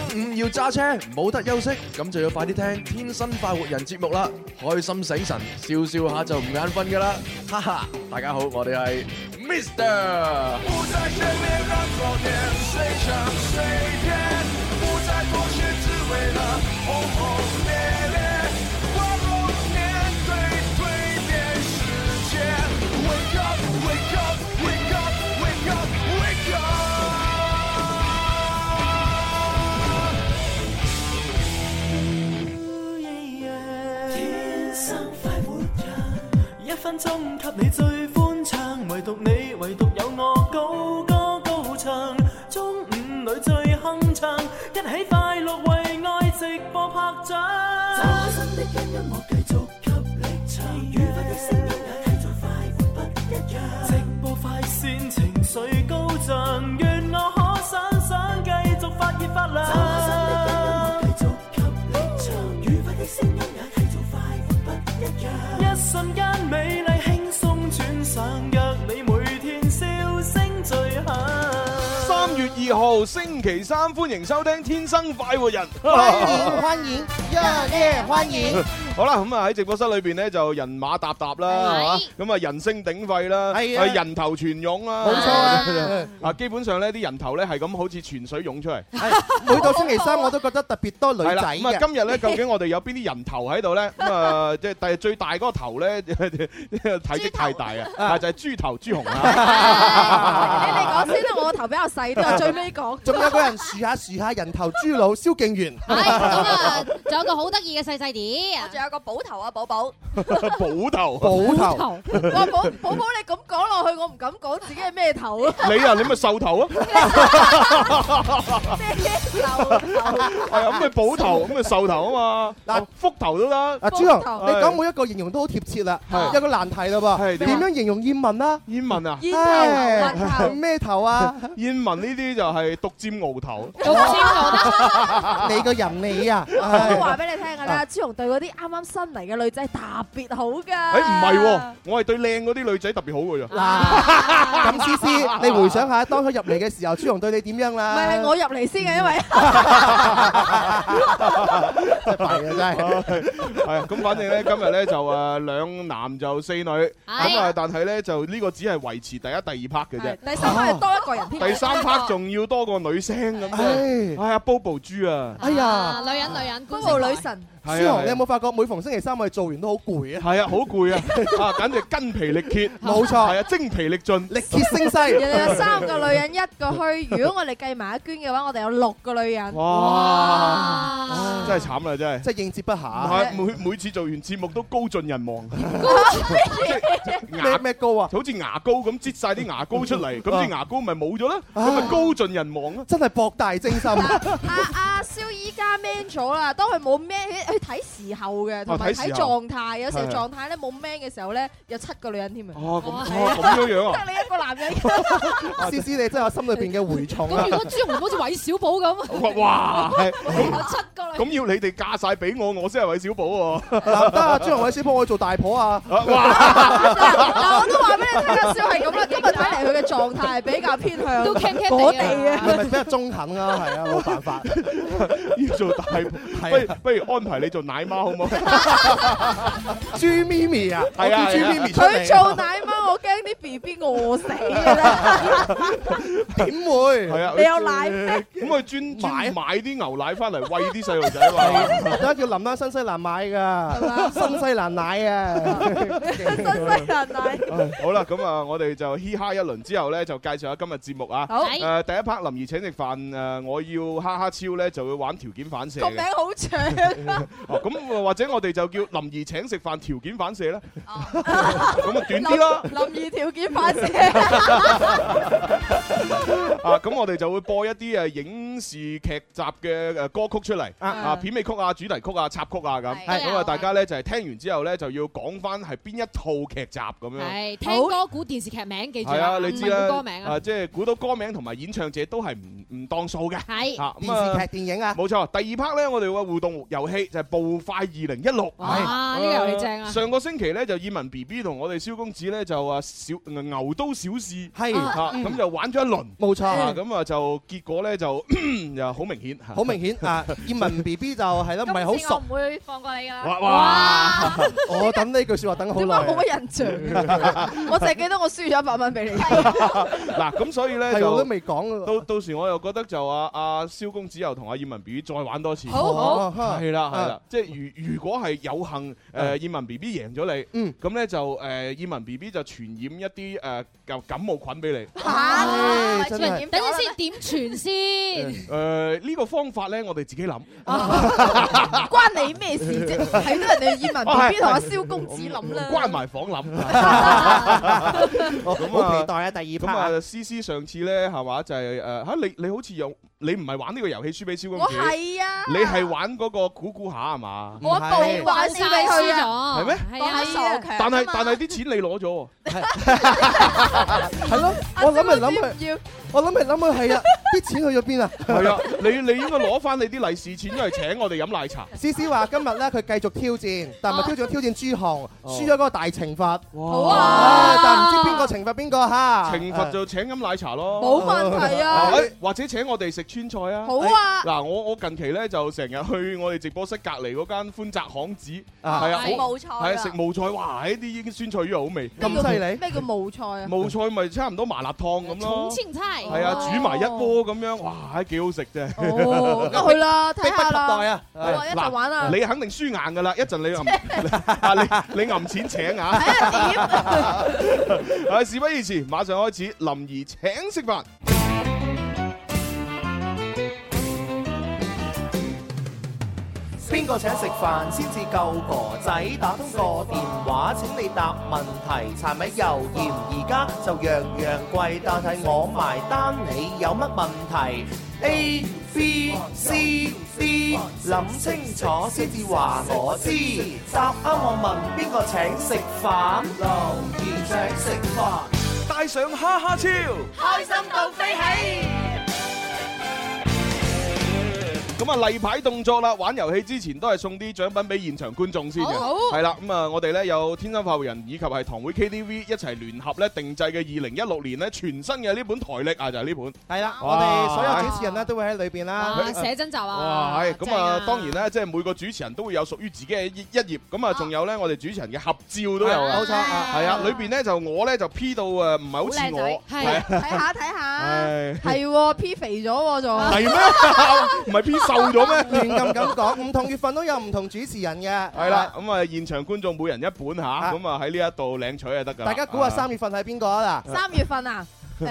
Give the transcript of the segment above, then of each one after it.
午要揸車冇得休息，咁就要快啲聽《天生快活人》節目啦，開心醒神，笑笑下就唔眼瞓噶啦，哈哈！大家好，我哋係 Mr。不在前面讓昨天誰唱誰甜，不再妥協只為了轟轟烈烈，光榮面對蛻變世界 Wake up, wake up, wake up, wake up, wake up。 天生快活人，1分鐘給你最歡暢，唯獨你，唯獨有我高歌高唱，中午裏最鏗鏘，一起快樂為愛直播拍掌。找新的音樂繼續給力唱，愉快的聲音也繼續快活不一樣。直播快線情緒高漲，願我可想繼續發熱發亮。找新的音樂繼續給力唱，愉快的聲音也繼續快活不一樣。一瞬間美麗輕鬆轉上，約你每天笑聲最響。 3月2號星期三，歡迎收聽《天生快活人》， 歡迎，歡迎。 好啦，咁啊喺直播室裏邊咧就人馬沓沓啦，咁啊人聲鼎沸啦，係人頭泉湧啦， 冇錯啊！ 啊，基本上咧啲人頭咧係咁好似泉水湧出嚟。 每到星期三我都覺得特別多女仔嘅。 咁啊，今日咧究竟我哋有邊啲人頭喺度咧？咁啊，即係最大嗰個頭咧，體積太大啊，就係豬頭豬紅啦。 你嚟講先啦，我個頭比較細啲，我最尾講。 仲有個人豎下人頭豬腦蕭敬元。 係咁啊，仲有個好得意嘅細細啲， 仲有個寶頭啊，寶寶。 寶頭。 哇，寶寶你咁講落去，我唔敢講自己係咩頭啊。 你啊，你咪獸頭啊。 咩頭？ 係啊，咁咪寶頭，咁咪獸頭啊嘛。嗱，福頭都得。 阿朱紅，你講每一個形容都好貼切啦。有個難題啦噃，點樣形容燕文啊？ 燕文啊？ 燕頭咩頭啊？ 燕文呢啲就係獨佔鰲頭。 獨佔鰲得。 你個人你啊！ 我都話俾你聽㗎啦，朱紅對嗰啲啱啱新嚟嘅女仔特別好㗎。 唔係喎，我係對靚嗰啲女仔特別好㗎咋。 嗱，咁思思，你回想下當佢入嚟嘅時候，朱紅對你點樣啦？ 唔係我入嚟先嘅，因為真係弊啊！真係係啊，咁反正咧今日咧就2男就4女，咁啊但係咧就呢個只係維持第一、第2 part 嘅啫。 第3 part 係多一個人添。 第3 part 仲要多個女聲咁。哎呀，Bobo 豬啊！ 哎呀，女人 ，Bobo 女神。 朱紅，你有冇發覺每逢星期三我哋做完都好攰啊？ 係啊，好攰啊！啊，簡直筋疲力竭。 冇錯， 係啊，精疲力盡， 力竭聲嘶。 人哋有3個女人，1個虛。如果我哋計埋阿娟嘅話，我哋有6個女人。 哇！真係慘啦，真係。 真係應接不暇。 每次做完節目都高盡人亡。 咩高啊？ 好似牙膏咁擠晒啲牙膏出嚟，咁啲牙膏咪冇咗啦，咁咪高盡人亡咯。 真係博大精深。 阿蕭依家 man 咗啦，當佢冇 man 去睇時候嘅，同埋睇狀態。有時候狀態咧冇 man 嘅時候咧，有7個女人添啊！ 哦，咁樣啊！ 得你一個男人。 思思，你真係我心裏邊嘅蛔蟲啊！ 咁如果朱紅好似韋小寶咁， 哇！ 有7個女人。 咁要你哋嫁晒俾我先係韋小寶喎。 嗱得啊，朱紅韋小寶我做大婆啊！ 哇！ 嗱，我都話俾你聽，阿蕭係咁啦。今日睇嚟佢嘅狀態係比較偏向都傾我哋嘅， 係咪比較中肯啊？係啊，冇辦法。 要做大婆，不如安排你做奶媽好唔好？ 豬咪咪啊，係啊，豬咪咪出嚟。 佢做奶媽，我驚啲 BB 餓死嘅啦。 點會？ 係啊， 你有奶咩？ 咁佢專買啲牛奶翻嚟餵啲細路仔嘛？ 而家叫林丹新西蘭買㗎，新西蘭奶啊！ 新西蘭奶。 好啦，咁啊，我哋就嘻哈一輪之後咧，就介紹下今日節目啊。 好。 第一 part 林怡請食飯，我要哈哈超咧就會玩條件反射嘅。 個名好長啊！ 咁或者我哋就叫林怡請食飯條件反射啦。咁啊短啲啦。 林怡條件反射。 咁我哋就會播一啲影視劇集嘅歌曲出嚟，片尾曲啊、主題曲啊、插曲啊咁。咁啊，大家咧就係聽完之後咧就要講翻係邊一套劇集咁樣。 係聽歌估電視劇名，記住係啊，你知啦， 歌名啊， 即係估到歌名同埋演唱者都係唔當數嘅。 係電視劇、電影啊， 冇錯。第2 part 咧，我哋嘅互動遊戲就係步快2016。 哇！呢個遊戲正啊！ 上個星期咧就燕文 BB 同我哋蕭公子咧就話牛刀小試， 係咁就玩咗一輪， 冇錯。 咁啊就結果咧就又好明顯， 好明顯啊！燕文 B B 就係咯，唔係好熟。 我唔會放過你㗎啦。 哇！我等呢句説話等好耐。 點解冇乜印象？我淨係記得我輸咗100蚊俾你。 嗱，咁所以咧就我都未講到時我又覺得就阿蕭公子又同阿燕文 B B 再玩多次。 好， 係啦，即係如果係有幸燕文 B B 贏咗你，咁咧就燕文 B B 就傳染一啲感冒菌俾你。 嚇！ 真係等陣先點傳先？ 呢個方法咧，我哋自己諗。 關你咩事啫？係都人哋燕文 B B 同阿蕭公子諗啦。 關埋房諗。 好期待啊！第二 part。 咁啊，思思上次咧係嘛就係你好似你唔係玩呢個遊戲輸俾蕭公子。 我係啊。 你係玩嗰個估下係嘛？ 我報玩輸俾佢啊。 係咩？ 係啊。 但係啲錢你攞咗喎。 係咯，我諗嚟諗去，係啊，啲錢去咗邊啊？ 係啊，你應該攞翻你啲利是錢，因為請我哋飲奶茶。 思思話今日咧佢繼續挑戰，但係挑戰朱紅，輸咗嗰個大懲罰。 好啊！ 但係唔知邊個懲罰邊個嚇？ 懲罰就請飲奶茶咯。 冇問題啊！ 或者請我哋食川菜啊！ 好啊！ 嗱，我近期咧就成日去我哋直播室隔離嗰間歡澤巷子， 係啊，冒菜係啊，食冒菜，哇！呢啲酸菜魚好味， 咁犀利！ 咩叫冒菜啊？ 冒菜咪差唔多麻辣燙咁咯。 重慶菜係啊，煮埋一鍋咁樣，哇！幾好食啫。 哦，咁去啦，睇下啦。 迫不及待啊！ 一齊玩啊！ 你肯定輸硬㗎啦，一陣你揞錢請啊！ 睇下點？ 事不宜遲，馬上開始，林兒請食飯。 邊個請食飯先至夠哥仔？打通個電話請你答問題。柴米油鹽而家就樣樣貴，但係我埋單，你有乜問題？A B C D， 諗清楚先至話我知。答啱我問邊個請食飯？留言請食飯， 帶上哈哈超， 開心到飛起。 咁啊，例牌動作啦！玩遊戲之前都係送啲獎品俾現場觀眾先嘅，係啦。咁啊，我哋咧有天生快活人以及係堂會 KTV 一齊聯合咧定製嘅2016年咧全新嘅呢本台歷啊，就係呢本。 係啦，我哋所有主持人咧都會喺裏邊啦。 寫真集啊！ 哇，係咁啊！當然咧，即係每個主持人都會有屬於自己嘅一頁。咁啊，仲有咧，我哋主持人嘅合照都有啊。 冇錯啊， 係啊，裏邊咧就我咧就 P 到唔係好似我， 係睇下，係 P 肥咗喎仲。 係咩？唔係 P 瘦咗咩？ 亂咁講，唔同月份都有唔同主持人嘅。 係啦，咁啊現場觀眾每人一本嚇，咁啊喺呢一度領取就得㗎。 大家估下3月份係邊個啊？嗱 ，3月份啊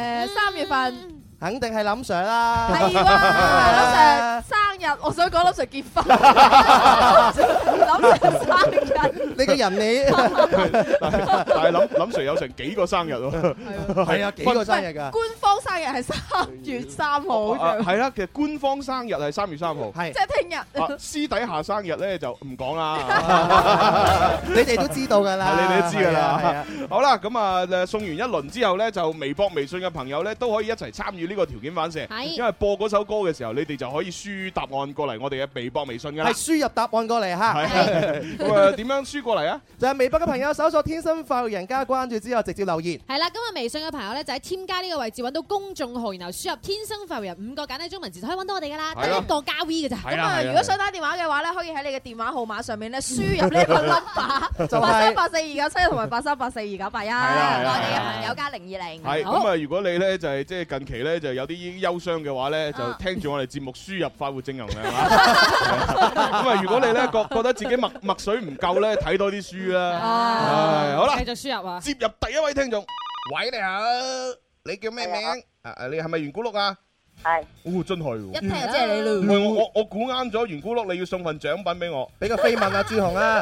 ，3月份。 肯定係林 Sir 啦， 係喎，林 Sir 生日，我想講林 Sir 結婚，林 Sir 生日， 你個人你， 但係林 Sir 有成幾個生日喎， 係啊，幾個生日㗎？ 官方生日係3月3號， 係啦，其實官方生日係3月3號， 係即係聽日。 私底下生日咧就唔講啦， 你哋都知道㗎啦， 你哋都知㗎啦。好啦，咁啊送完一輪之後咧，就微博、微信嘅朋友咧都可以一齊參與呢個條件反射，因為播嗰首歌嘅時候，你哋就可以輸答案過嚟我哋嘅微博、微信㗎啦。係輸入答案過嚟嚇。 咁啊點樣輸過嚟啊？ 就係微博嘅朋友搜索天生快活人加關注之後直接留言。 係啦，咁啊微信嘅朋友咧就喺添加呢個位置揾到公眾號，然後輸入天生快活人5個簡體中文字就可以揾到我哋㗎啦，得一個加 V 嘅咋。 咁啊，如果想打電話嘅話咧，可以喺你嘅電話號碼上面咧輸入呢個 number 83842971同埋83842981。係啦， 我哋嘅朋友加020。 係咁啊，如果你咧就係即係近期咧就有啲憂傷嘅話咧，就聽住我哋節目輸入快活正能量啦。咁啊，如果你咧覺得自己墨水唔夠咧，睇多啲書啦。好啦， 繼續輸入啊！ 接入第一位聽眾，喂，你好，你叫咩名？你係咪圓咕碌啊？ 係。 哦，真係喎！ 一聽就知係你咯。 喂，我估啱咗，圓咕碌你要送份獎品俾我， 俾個飛吻啊，朱紅啊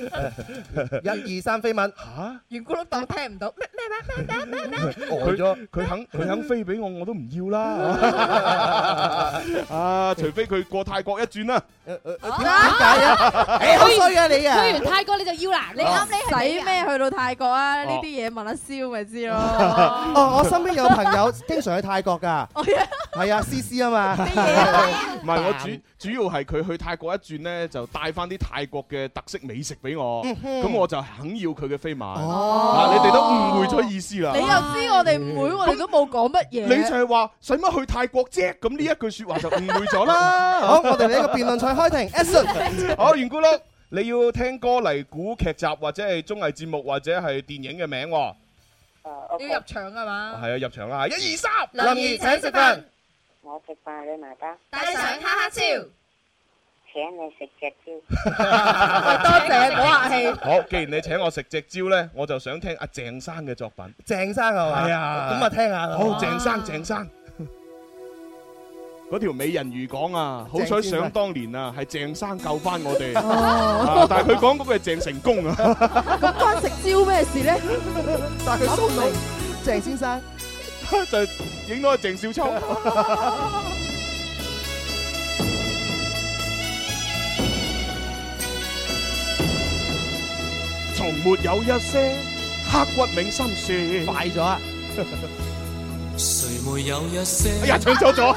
！1、2、3飛吻。 嚇！ 圓咕碌當聽唔到咩？ 佢肯飛俾我都唔要啦。啊，除非佢過泰國一轉啦。 點解啊？好衰啊你啊！ 去完泰國你就要啦，你啱你使咩去到泰國啊？呢啲嘢問阿蕭咪知咯。 哦，我身邊有朋友經常去泰國㗎。 係啊，CC 啊嘛。 唔係我主要係佢去泰國一轉咧，就帶翻啲泰國嘅特色美食俾我，咁我就肯要佢嘅飛馬。嗱，你哋都誤會咗意思啦。 你又知我哋唔會，我哋都冇講乜嘢。 你就係話使乜去泰國啫？咁呢一句説話就誤會咗啦。 好，我哋呢個辯論賽開庭 ，Action。 好，圓咕碌，你要聽歌嚟估劇集或者係綜藝節目或者係電影嘅名喎。 要入場係嘛？ 係啊，入場啦！1、2、3， 林怡請食飯， 我食飯你埋單， 帶上哈哈超， 請你食隻蕉。 多謝，唔好客氣。 好，既然你請我食隻蕉咧，我就想聽阿鄭生嘅作品。 鄭生係嘛？ 係啊， 咁啊聽下。 好，鄭生。嗰條美人魚講啊，好彩想當年啊，係鄭生救翻我哋，但係佢講嗰個係鄭成功啊。 咁關食蕉咩事咧？ 但係佢蘇老鄭先生就影到係鄭少秋。從沒有一些刻骨銘心事。 快咗啊！ 誰沒有一些？ 哎呀，唱錯咗。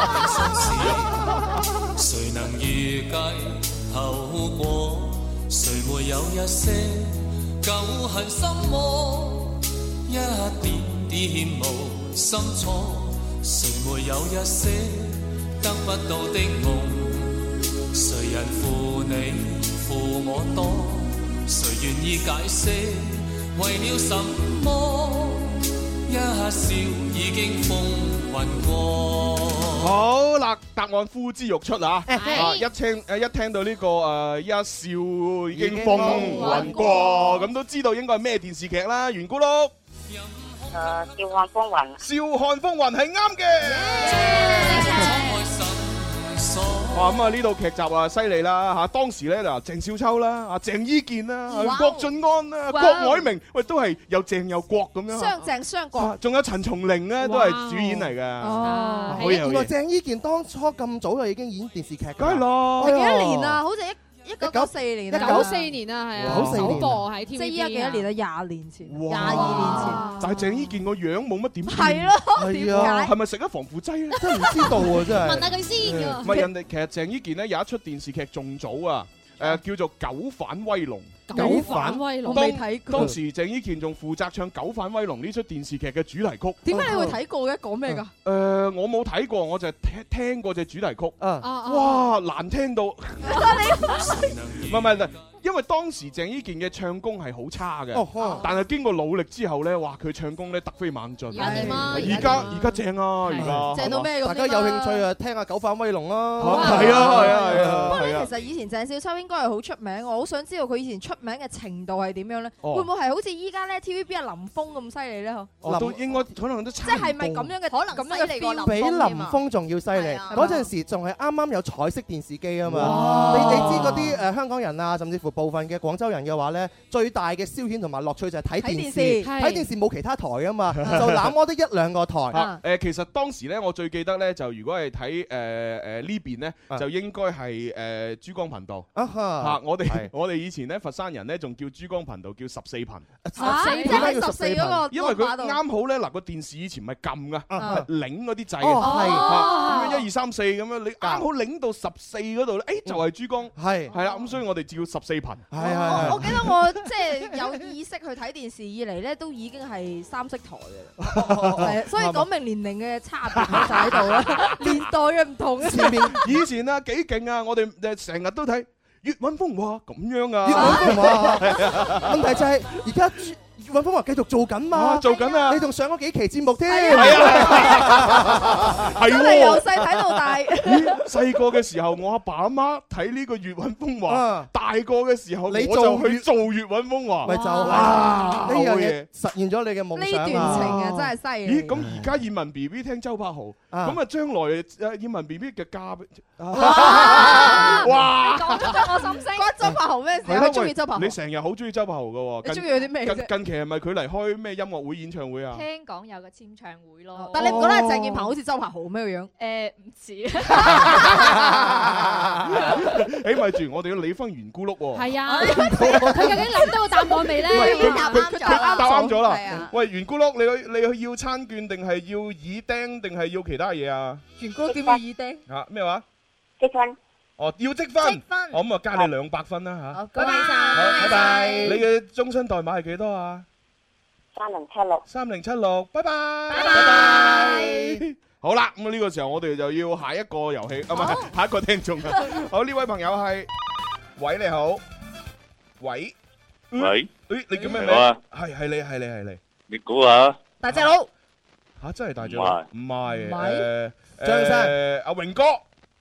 誰能預計後果？誰沒有一些舊恨心魔？一點點無心錯。誰沒有一些得不到的夢？誰人負你負我多？誰願意解釋為了什麼？一笑已經風雲過。 好啦，答案呼之欲出啊！一聽到呢個一笑已經風雲過，咁都知道應該係咩電視劇啦？圓咕碌。 笑看風雲。 笑看風雲係啱嘅。哇！咁啊呢套劇集啊犀利啦嚇，當時咧嗱鄭少秋啦、啊鄭伊健啦、郭晉安啦、郭藹明，喂都係又鄭又郭咁樣。 雙鄭雙郭。仲有陳松伶咧都係主演嚟嘅。 哦， 原來鄭伊健當初咁早就已經演電視劇㗎。 梗係咯。 係幾多年啊？好似1994年 ，94年啊，係啊，首播喺 TVB。 即係依家幾多年啊？20年前，22年前。 但係鄭伊健個樣冇乜點變。 係咯，點解？ 係咪食咗防腐劑咧？ 真係唔知道喎，真係。 問下佢先㗎。 唔係人哋其實鄭伊健咧有一出電視劇仲早啊，叫做《九反威龍》。 九反威龍， 我未睇過。 當時鄭伊健仲負責唱《九反威龍》呢出電視劇嘅主題曲。 點解你會睇過嘅？講咩㗎？ 我冇睇過，我就係聽過隻主題曲。哇，難聽到！唔係，因為當時鄭伊健嘅唱功係好差嘅，但係經過努力之後咧，哇，佢唱功咧突飛猛進。 而家點啊？ 而家正啊！而家正到咩咁？ 大家有興趣啊，聽下《九反威龍》啦。 係啊！ 不過咧，其實以前鄭少秋應該係好出名，我好想知道佢以前出名嘅程度係點樣咧？會唔會係好似依家咧 TVB 阿林峰咁犀利咧？ 都應該可能都差唔多。 即係咪咁樣嘅？可能咁樣嘅 feel 比林峰仲要犀利。嗰陣時仲係啱啱有彩色電視機啊嘛。你知嗰啲香港人啊，甚至乎部分嘅廣州人嘅話咧，最大嘅消遣同埋樂趣就係睇電視。睇電視冇其他台啊嘛，就那麼得1-2個台。 其實當時咧，我最記得咧，就如果係睇呢邊咧，就應該係珠江頻道。我哋以前咧佛山人咧仲叫珠江頻道叫14頻。 即係14嗰個。 因為佢啱好咧嗱個電視以前唔係撳噶，係擰嗰啲掣嘅。咁樣1、2、3、4咁樣，你啱好擰到14嗰度咧，就係珠江。係啦，咁所以我哋叫14頻。 我記得我即係有意識去睇電視以嚟咧，都已經係3色台嘅。係，所以講明年齡嘅差別就喺度啦，年代嘅唔同。 以前啊幾勁啊，我哋成日都睇粵韻風華咁樣啊。 粵韻風華，問題就係而家粵韻風華繼續做緊嘛？ 做緊啊！ 你仲上咗幾期節目添？ 係啊，係喎。 由細睇到大。 細個嘅時候，我阿爸阿媽睇呢個粵韻風華；大個嘅時候，我就去做粵韻風華。 咪就哇！呢樣嘢實現咗你嘅夢想啊！ 呢段情啊，真係犀利。 咦？咁而家燕文 B B 聽周柏豪，咁啊將來燕文 B B 嘅嫁俾哇！講出咗我心聲。關周柏豪咩事？我中意周柏豪。 你成日好中意周柏豪㗎喎。 你中意佢啲咩啫？ 近期係咪佢嚟開咩音樂會、演唱會啊？ 聽講有個簽唱會咯。 但你唔覺得鄭健鵬好似周柏豪咩個樣？ 唔似。 起碼咪住，我哋要理翻圓咕碌喎。 係啊，佢究竟諗到個答案未咧？ 佢答啱咗啦係啊。 喂，圓咕碌，你要餐券定係要耳釘定係要其他嘢啊？ 圓咕碌點要耳釘？ 嚇咩話？ 積分。 哦，要積分。 積分。 我咁啊加你200分啦嚇。 好，恭喜晒。 好，拜拜。你嘅終身代碼係幾多啊 3076。 3076，拜拜。 拜拜。 好啦，咁呢個時候我哋就要下一個遊戲，唔係下一個聽眾啊。好，呢位朋友係，喂你好，喂， 喂， 誒你叫咩名？係你， 你估下？ 大隻佬。 嚇真係大隻佬？唔係， 張生， 阿榮哥，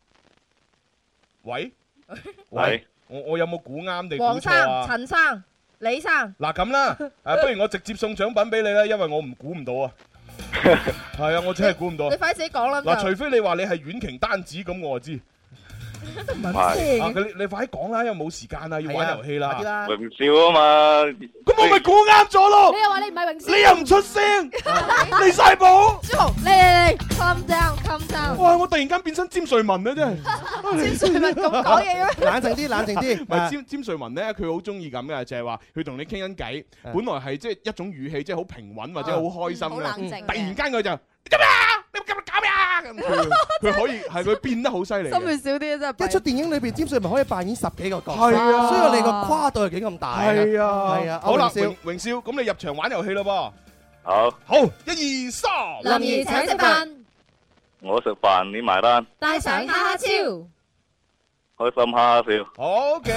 喂，我有冇估啱定估黃錯啊？ 生、陳生、李生。 嗱咁啦，不如我直接送獎品俾你啦，因為我唔估唔到啊。係啊，我真係估唔到。 你快啲自己講啦。 嗱，除非你話你係婉瓊單子咁，我就知。 都唔係咩？ 你快啲講啦，因為冇時間啦，要玩遊戲啦。 榮少啊嘛， 咁我咪估啱咗咯。 你又話你唔係榮少， 你又唔出聲，離晒譜。 朱紅，嚟，calm down，calm down。 哇！我突然間變身詹瑞文啊，真係。 詹瑞文咁講嘢咩？ 冷靜啲，冷靜啲。 唔係詹瑞文咧，佢好中意咁嘅，就係話佢同你傾緊偈，本來係即係一種語氣，即係好平穩或者好開心嘅，突然間佢就做咩啊？你今日搞咩啊？咁佢可以係佢變得好犀利。 心血少啲真係。 一出電影裏邊，詹瑞文可以扮演10幾個角色， 係啊， 所以你個跨度係幾咁大。 係啊， 係啊。 好啦，榮少，咁你入場玩遊戲啦噃。好，1、2、3。 林兒請食飯， 我食飯你埋單， 帶上哈哈超， 開心哈哈笑。 OK。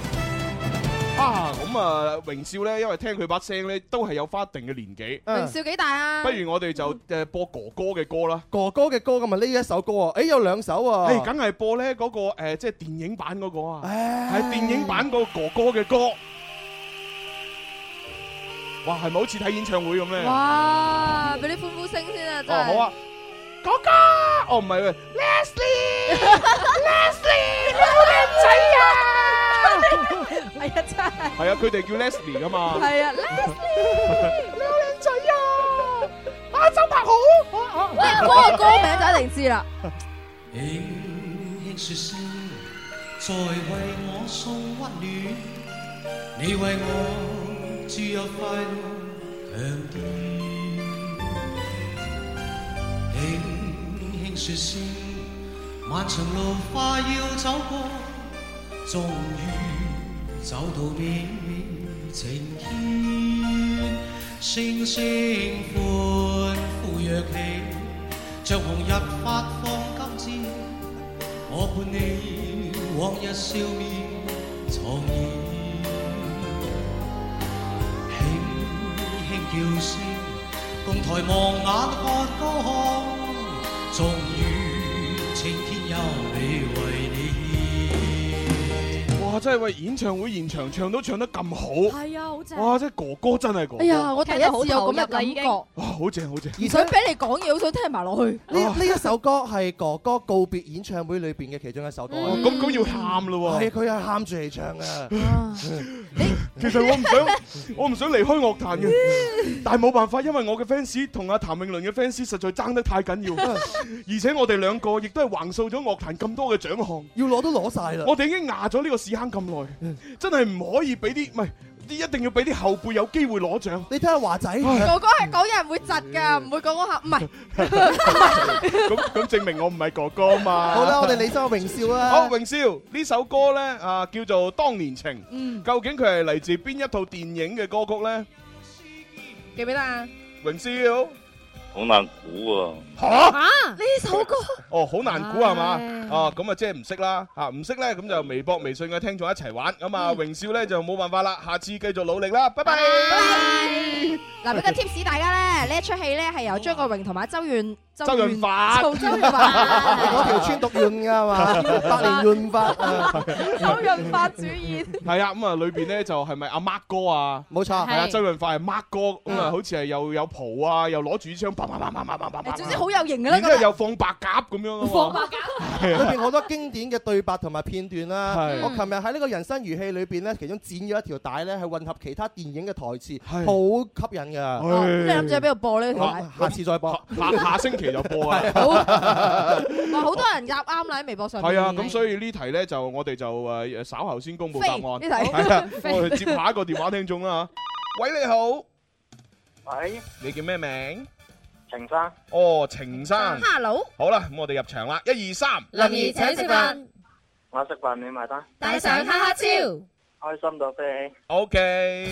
咁啊，榮少咧，因為聽佢把聲咧，都係有翻一定嘅年紀。 榮少幾大啊？ 不如我哋就播哥哥嘅歌啦。 哥哥嘅歌咁啊，呢一首歌啊，誒有2首啊。 梗係播咧嗰個即係電影版嗰個啊。係電影版個哥哥嘅歌。哇，係咪好似睇演唱會咁咧？ 哇，俾啲歡呼聲先啊！真係。 好啊，哥哥。哦，唔係喂 ，Leslie，你好靚仔啊！ 係啊，真係。 係啊，佢哋叫 Leslie 噶嘛。 係啊 ，Leslie，你好靚仔啊！周柏豪，喂，嗰個歌名就一定知啦。 輕輕說聲，在為我送溫暖，你為我注入快樂強電。輕輕說聲，漫長路快要走過，終於走到美晴天，星星歡呼躍起，像紅日發放金箭，我伴你往日笑面重現，輕輕叫聲，共抬望眼看高空，終於晴天有美為你。 哇！真係喂，演唱會現場唱都唱得咁好， 係啊，好正！ 哇！真係哥哥真係哥哥。 哎呀，我第一次有咁嘅感覺。 哇，好正好正！ 而想俾你講嘢，好想聽埋落去。 呢一首歌係哥哥告別演唱會裏邊嘅其中一首歌。 咁要喊咯喎！ 係佢係喊住嚟唱嘅。 其實我唔想離開樂壇嘅，但係冇辦法，因為我嘅 fans 同阿譚詠麟嘅 fans 實在爭得太緊要，而且我哋兩個亦都係橫掃咗樂壇咁多嘅獎項， 要攞都攞晒啦。 我哋已經壓咗呢個屎坑咁耐，真係唔可以俾啲，唔係一定要俾啲後輩有機會攞獎。 你睇下華仔， 哥哥係講人會窒㗎，唔會講下，唔係。 咁證明我唔係哥哥嘛。 好啦，我哋理翻榮少啦。 好，榮少呢首歌咧叫做《當年情》，究竟佢係嚟自邊一套電影嘅歌曲咧？ 記唔記得啊？ 榮少。 好難估喎！ 嚇呢首歌哦，好難估係嘛？啊咁啊，即係唔識啦嚇，唔識咧咁就微博、微信嘅聽眾一齊玩咁啊！榮少咧就冇辦法啦，下次繼續努力啦，拜拜。 嗱，俾個 tips 大家咧，呢一出戲咧係由張國榮同埋周潤發做周潤發嗰條村讀潤㗎嘛，百年潤發周潤發主演。 係啊，咁啊裏邊咧就係咪阿 Mark 哥啊？ 冇錯， 係啊，周潤發係 Mark 哥，咁啊好似係又有蒲啊，又攞住槍，啪啪啪啪啪啪啪啪， 總之好有型㗎啦。 然之後又放白鴿咁樣啊嘛。 放白鴿。 裏邊好多經典嘅對白同埋片段啦。我琴日喺呢個人生如戲裏邊咧，其中剪咗一條帶咧，係混合其他電影嘅台詞，好吸引㗎。 你諗住喺邊度播呢條帶？ 下次再播。 下星期期就播啊。 哇，好多人答啱啦喺微博上面。 係啊，咁所以呢題咧就我哋就稍後先公佈答案。 呢題係啊，我哋接下一個電話聽眾啦。喂，你好。 喂， 你叫咩名？ 程生。 哦，程生。 Hello。 好啦，咁我哋入場啦，1、2、3。 林怡請食飯， 我食飯你埋單。 帶上哈哈超， 開心到飛起。 OK。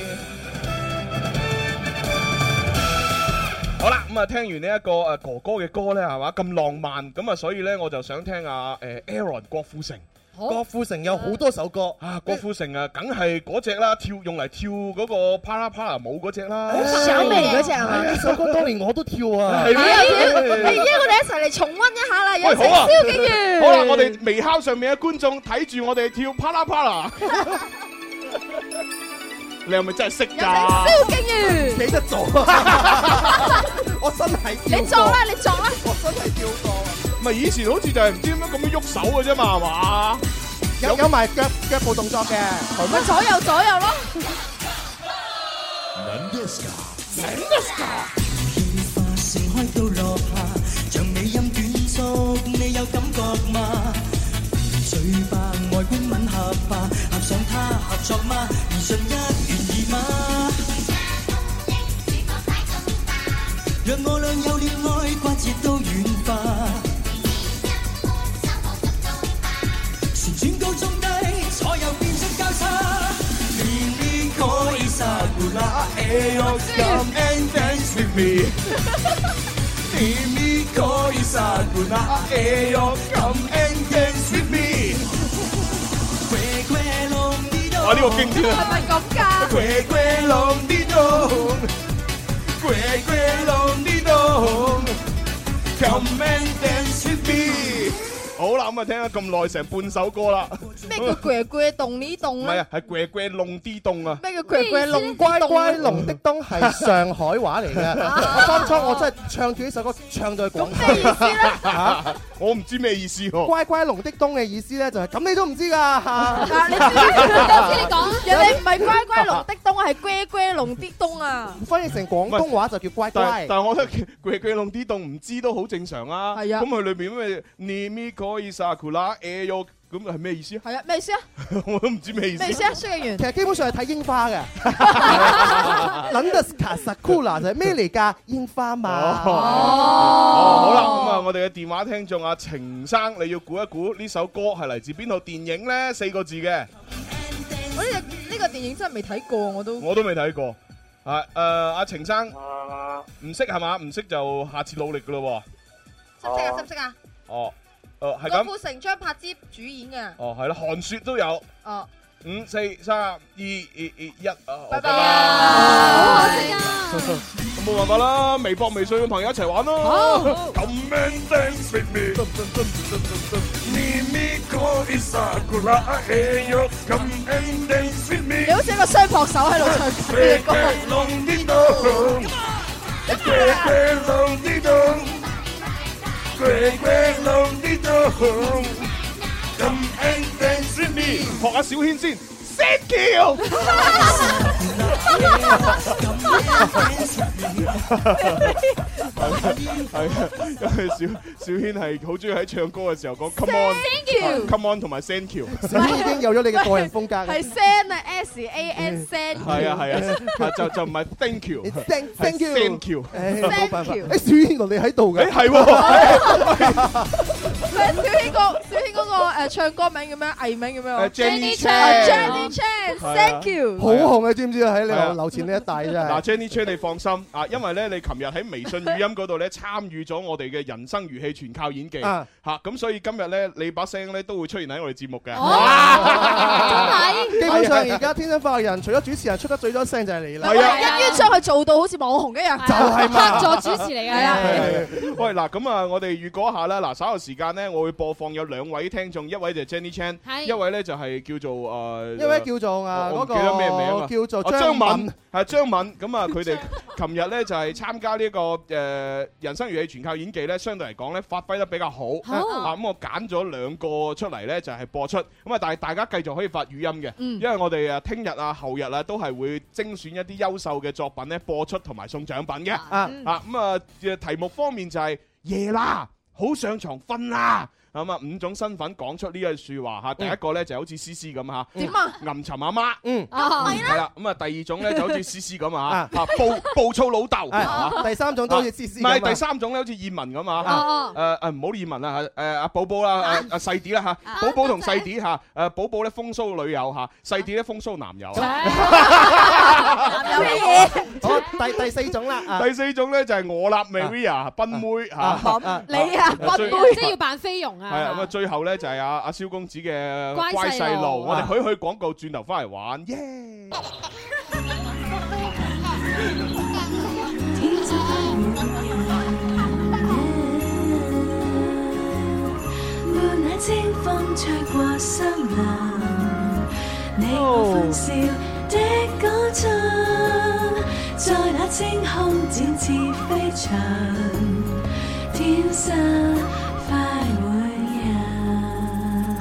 好啦，咁啊，聽完呢一個哥哥嘅歌咧，係嘛咁浪漫，咁啊，所以咧我就想聽下Aaron 郭富城。 郭富城有好多首歌啊！郭富城啊，梗係嗰隻啦，用嚟跳嗰個啪啦啪啦舞嗰隻啦， 小美嗰隻係嘛？ 呢首歌當年我都跳啊！ 係咩？ 而家我哋一齊嚟重溫一下啦，有請蕭敬元。 好啦，我哋微烤上面嘅觀眾睇住我哋跳啪啦啪啦。你係咪真係識㗎？ 有請蕭敬元。 記得做啊！我真係你作啦，你作啦。 我真係跳過。 唔係以前好似就係唔知點樣咁樣喐手嘅啫嘛，係嘛？ 有埋腳部動作嘅， 咪左右咯。 盛開到落下，像美音短促，你有感覺嗎？嘴巴外觀吻合吧，合上它合作嗎？言順一願意嗎？讓我倆有戀愛，關節都軟化。旋轉高中低，左右變出交叉。Mimi koi sakura, ayo come and dance with me. Mimi koi sakura, ayo come and dance with me. 哇！呢個經典啊！ 係咪咁㗎？ Come and dance with me。好啦，咁啊聽咗咁耐，成半首歌啦。 咩叫咕咕動呢動咧？ 唔係啊，係咕咕弄啲凍啊。 咩叫咕咕弄乖乖龍的冬係上海話嚟嘅。當初我真係唱住呢首歌，唱到去廣州。 咩意思咧？ 我唔知咩意思喎。 乖乖龍的冬嘅意思咧就係咁，你都唔知㗎。 嗱，你知你講，人哋唔係乖乖龍的冬，係咕咕龍啲冬啊。 翻譯成廣東話就叫乖乖。 但係我覺得咕咕弄啲凍唔知都好正常啊。 係啊。 咁佢裏邊咩？Nimi koi sakura ayo 咁係咩意思啊？ 係啊，咩意思啊？ 我都唔知咩意思。 咩意思啊？蕭敬元其實基本上係睇櫻花嘅。Nandaska Sakura 就係咩嚟㗎？櫻花嘛。 好啦，咁啊，我哋嘅電話聽眾阿程生，你要估一估呢首歌係嚟自邊套電影咧？4個字嘅。 我呢個電影真係未睇過，我都未睇過。啊阿程生唔識係嘛？唔識就下次努力㗎咯喎。 識唔識啊？ 哦。係咁。 郭富城、張柏芝主演嘅。 哦，係啦，韓雪都有。 哦。 5、4、3、2、1啊！ 拜拜。 好可惜啊！ 冇辦法啦，微博、微信嘅朋友一齊玩咯。 好。 Come and dance with me。Mimi koi sakura ayo come and dance with me。 你好似一個雙膊手喺度唱呢隻歌。 Come and dance with me， 學下小軒先 ，Thank you。係啊，因為小軒係好中意喺唱歌嘅時候講 Come on，Come on 同埋 Thank you。 小軒已經有咗你嘅個人風格。 係 San 啊 ，SAN San。 係啊，就唔係 Thank you。 Thank you。Thank you。冇辦法。小軒原來你喺度嘅。 係喎。 小軒嗰個唱歌名叫咩？藝名叫咩 ？Jenny Chan，Thank you。 好紅啊，知唔知啊？喺你樓前呢一帶真係。 嗱 Jenny Chan 你放心啊，因為咧你琴日喺微信語音嗰度咧參與咗我哋嘅人生如戲全靠演技嚇，咁所以今日咧你把聲咧都會出現喺我哋節目嘅。 真係。 基本上而家天生快活人，除咗主持人出得最多聲就係你啦。 係啊，一於將佢做到好似網紅一樣。 就係嘛， 客座主持嚟嘅。係啊。 喂嗱，咁啊，我哋預告一下啦。嗱，稍後時間咧，我會播放有2位聽眾，一位就係 Jenny Chan， 一位咧就係叫做一位叫做嗰個記得咩名啊？ 叫做張敏，係張敏。咁啊，佢哋琴日咧就係參加呢個人生如戲全靠演技咧，相對嚟講咧發揮得比較好。咁我揀咗2個出嚟咧，就係播出。咁啊，但係大家繼續可以發語音嘅，因為我哋聽日啊、後日啊都係會精選一啲優秀嘅作品咧播出同埋送獎品嘅。咁啊，題目方面就係夜啦，好上床瞓啦。咁啊，5種身份講出呢句説話嚇。第一個咧就好似思思咁嚇， 點啊？ 吟沉阿媽， 係啦。咁啊，第二種咧就好似思思咁啊，暴躁老豆。 第三種都好似思思。 唔係，第三種咧好似燕文咁啊。唔好燕文啦嚇，阿寶寶啦，阿細啲啦嚇，寶寶同細啲嚇，寶寶咧風騷女友嚇，細啲咧風騷男友。 有咩嘢？ 好，第四種啦。 第四種咧就係我啦 ，Maria 賓妹嚇。 你啊，賓妹， 即係要扮菲傭啊！ 係啊，咁啊，最後咧就係阿蕭公子嘅乖細路，我哋去廣告，轉頭翻嚟玩，耶！ 伴那清風吹過森林，你我歡笑的歌唱，在那清空展翅飛翔，天生快活人。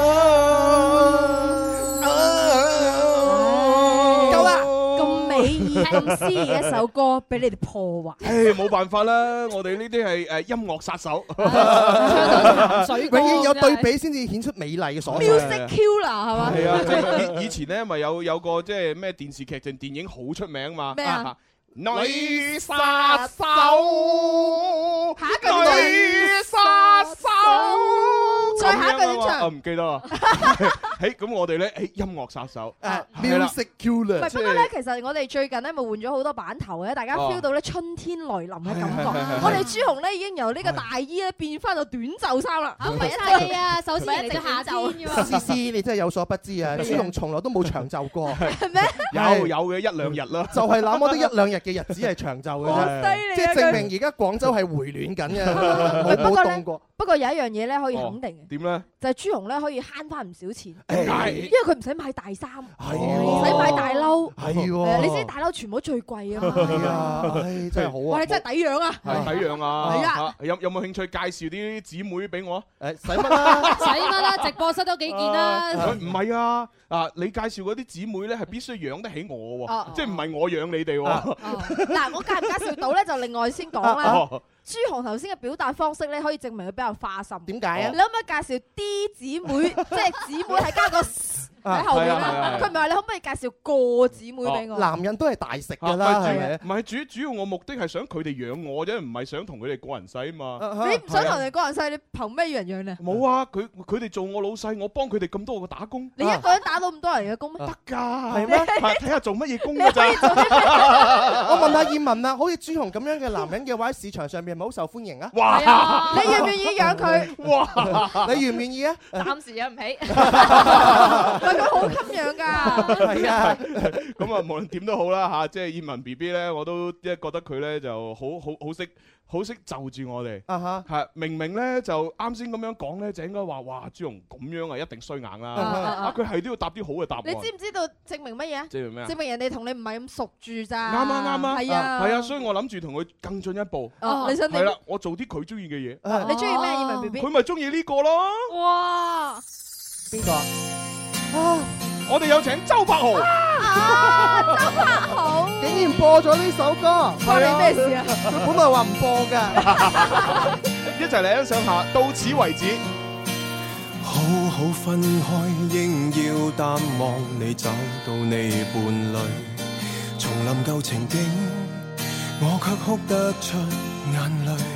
夠啦！咁美意、咁詩意嘅一首歌，俾你哋破壞。 冇辦法啦，我哋呢啲係音樂殺手， 永遠有對比先至顯出美麗嘅所在。 Music Killer 係嘛？ 係啊，即係以前咧咪有個即係咩電視劇定電影好出名嘛？ 咩啊？ 女殺手， 下一句女殺手， 再下一句點唱？ 我唔記得啦。咁我哋咧，音樂殺手 ，Music Killer。 不過咧，其實我哋最近咧咪換咗好多版頭嘅，大家 feel 到咧春天來臨嘅感覺。我哋朱紅咧已經由呢個大衣咧變翻到短袖衫啦。 唔係係啊，首先嚟到夏天㗎嘛。 思思，你真係有所不知啊！朱紅從來都冇長袖過。 係咩？ 有嘅一兩日啦。 就係那麼得一兩日嘅日子係長袖嘅啫，即係證明而家廣州係回暖緊嘅，冇凍過。 不過有一樣嘢咧可以肯定嘅， 點咧？ 就係朱紅咧可以慳翻唔少錢， 因為佢唔使買大衫，唔使買大褸， 係喎， 你知大褸全部都最貴啊嘛。 係啊，真係好啊！ 哇，你真係抵養啊！ 係抵養啊！ 係啊， 有冇興趣介紹啲姊妹俾我？ 使乜啦？ 使乜啦？直播室都幾件啦。 唔係啊！你介紹嗰啲姊妹咧係必須養得起我喎，即係唔係我養你哋喎。 嗱，我介唔介紹到咧就另外先講啦。朱紅頭先嘅表達方式咧，可以證明佢比較花心。 點解啊？ 你可唔可以介紹 D 姊妹，即係姊妹係加個喺後面啦？佢唔係話你可唔可以介紹個姊妹俾我？ 男人都係大食㗎啦，係咪？ 唔係主要我目的係想佢哋養我啫，唔係想同佢哋個人使啊嘛。 你唔想同人個人使，你憑咩要人養你？ 冇啊！佢哋做我老細，我幫佢哋咁多個打工。 你一個人打到咁多人嘅工咩？ 得㗎，係咩？ 睇下做乜嘢工㗎咋？ 我問下葉文啊，好似朱紅咁樣嘅男人嘅話，喺市場上面係咪好受歡迎啊？ 哇！ 你願唔願意養佢？ 哇！ 你願唔願意啊？ 暫時養唔起。 喂，佢好襟養㗎。 係啊。 咁啊，無論點都好啦嚇，即係葉文 BB 咧，我都即係覺得佢咧就好識就住我哋。係明明咧就啱先咁樣講咧，就應該話哇朱紅咁樣啊，一定衰硬啦。佢係都要答啲好嘅答案。 你知唔知道證明乜嘢啊？ 證明咩啊？ 證明人哋同你唔係咁熟住咋。 啱啊！ 係啊， 係啊，所以我諗住同佢更進一步。 你想點？ 係啦，我做啲佢中意嘅嘢。 你中意咩？葉文 BB？ 佢咪中意呢個咯。 哇！ 邊個啊？ 我哋有請周柏豪。 周柏豪竟然播咗呢首歌， 關你咩事啊？ 佢本來話唔播㗎。 一齊嚟欣賞下，到此為止。 好好分開，應要淡忘你找到你伴侶，重臨舊情景，我卻哭得出眼淚。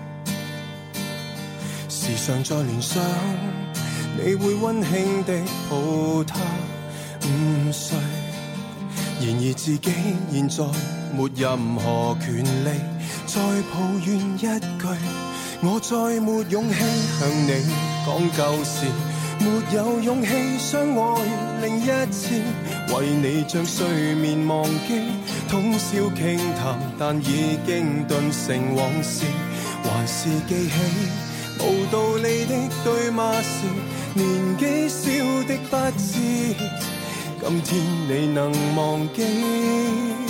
時常在聯想，你會溫馨地抱他午睡，然而自己現在沒任何權利再抱怨一句，我再沒勇氣向你講舊事，沒有勇氣相愛另一次，為你將睡眠忘記，通宵傾談，但已經頓成往事，還是記起無道理的對罵時，年紀小的不知，今天你能忘記，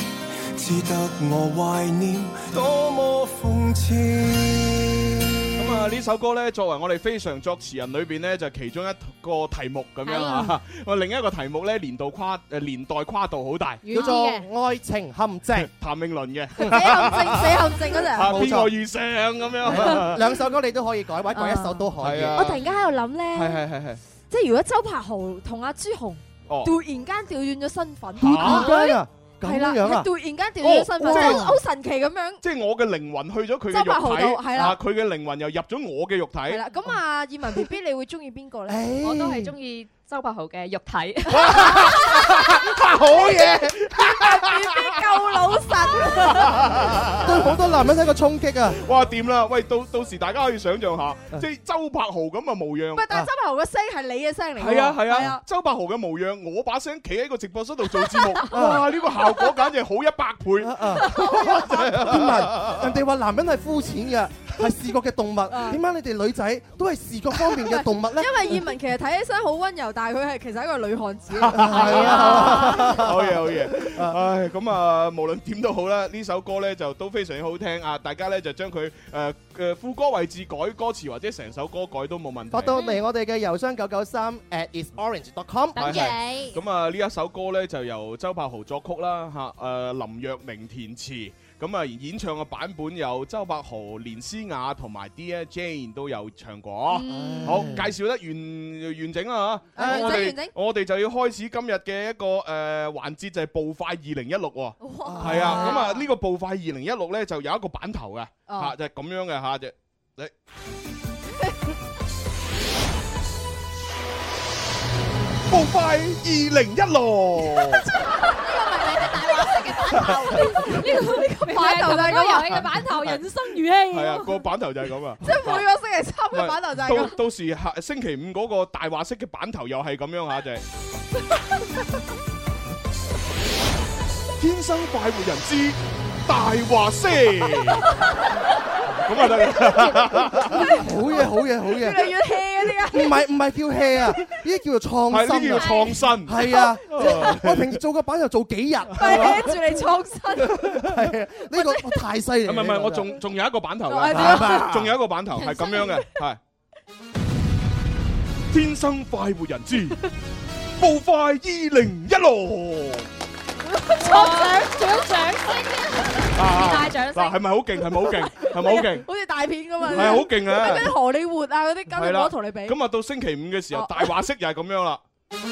只得我懷念，多麼諷刺。 啊呢首歌咧，作為我哋非常作詞人裏邊咧，就其中一個題目咁樣啊。另一個題目咧，年代跨度好大， 叫做《愛情陷阱》， 譚詠麟嘅。 死陷阱嗰陣。 邊個遇上咁樣？ 兩首歌你都可以改，或者改一首都可以。 我突然間喺度諗咧， 係， 即係如果周柏豪同阿朱紅突然間調轉咗身份， 咁樣啊！ 突然間調轉咗身份，好神奇咁樣。 即係我嘅靈魂去咗佢嘅肉體， 係啦， 佢嘅靈魂又入咗我嘅肉體。係啦，咁啊，葉文 BB，你會中意邊個咧？ 我都係中意周柏豪嘅肉體。 好嘢 ！BB 夠老實， 對好多男人係一個衝擊啊！ 哇，掂啦！喂，到時大家可以想象下，即係周柏豪咁嘅模樣。 喂，但係周柏豪嘅聲係你嘅聲嚟㗎。 係啊！周柏豪嘅模樣，我把聲企喺個直播室度做節目，哇！呢個效果簡直好100倍。 人哋話男人係膚淺嘅，係視覺嘅動物。點解你哋女仔都係視覺方面嘅動物咧？ 因為葉文其實睇起身好溫柔，但係佢係其實係一個女漢子。 係啊，好嘢！唉，咁啊，無論點都好啦，呢首歌咧就都非常之好聽啊！大家咧就將佢副歌位置改歌詞或者成首歌改都冇問題。 發到嚟我哋嘅郵箱993@isorange.com。 等你。 咁啊，呢一首歌咧就由周柏豪作曲啦，林若寧填詞。咁啊，演唱嘅版本有周柏豪、連詩雅同埋 Dear Jane 都有唱過。好，介紹得完整啦嚇。我哋就要開始今日嘅一個環節，就係步快2016喎。係啊，咁啊呢個步快2016咧就有一個版頭嘅嚇，就係咁樣嘅嚇，就你步快2016。 呢個版頭就係咁遊戲嘅版頭，人生如戲。 係啊，個版頭就係咁啊。 即係每個星期3嘅版頭就係咁。 到時星期5嗰個大話式嘅版頭又係咁樣嚇，就係天生快活人之大話式。咁啊得好嘢！ 越嚟越 hea 嗰啲啊！ 唔係叫 hea 啊，呢啲叫做創新。 係呢叫創新。 係啊，我平時做個版就做幾日。 係住你創新。 係啊，呢個太犀利。 唔係，我仲有一個版頭嘅，仲有一個版頭係咁樣嘅，係天生快活人之步快2016。 獎聲，大獎聲。 嗱，係咪好勁？係咪好勁？ 好似大片咁啊！ 係好勁啊！ 嗰啲荷里活啊，嗰啲根本冇得同你比。 咁啊，到星期5嘅時候，大話式又係咁樣啦。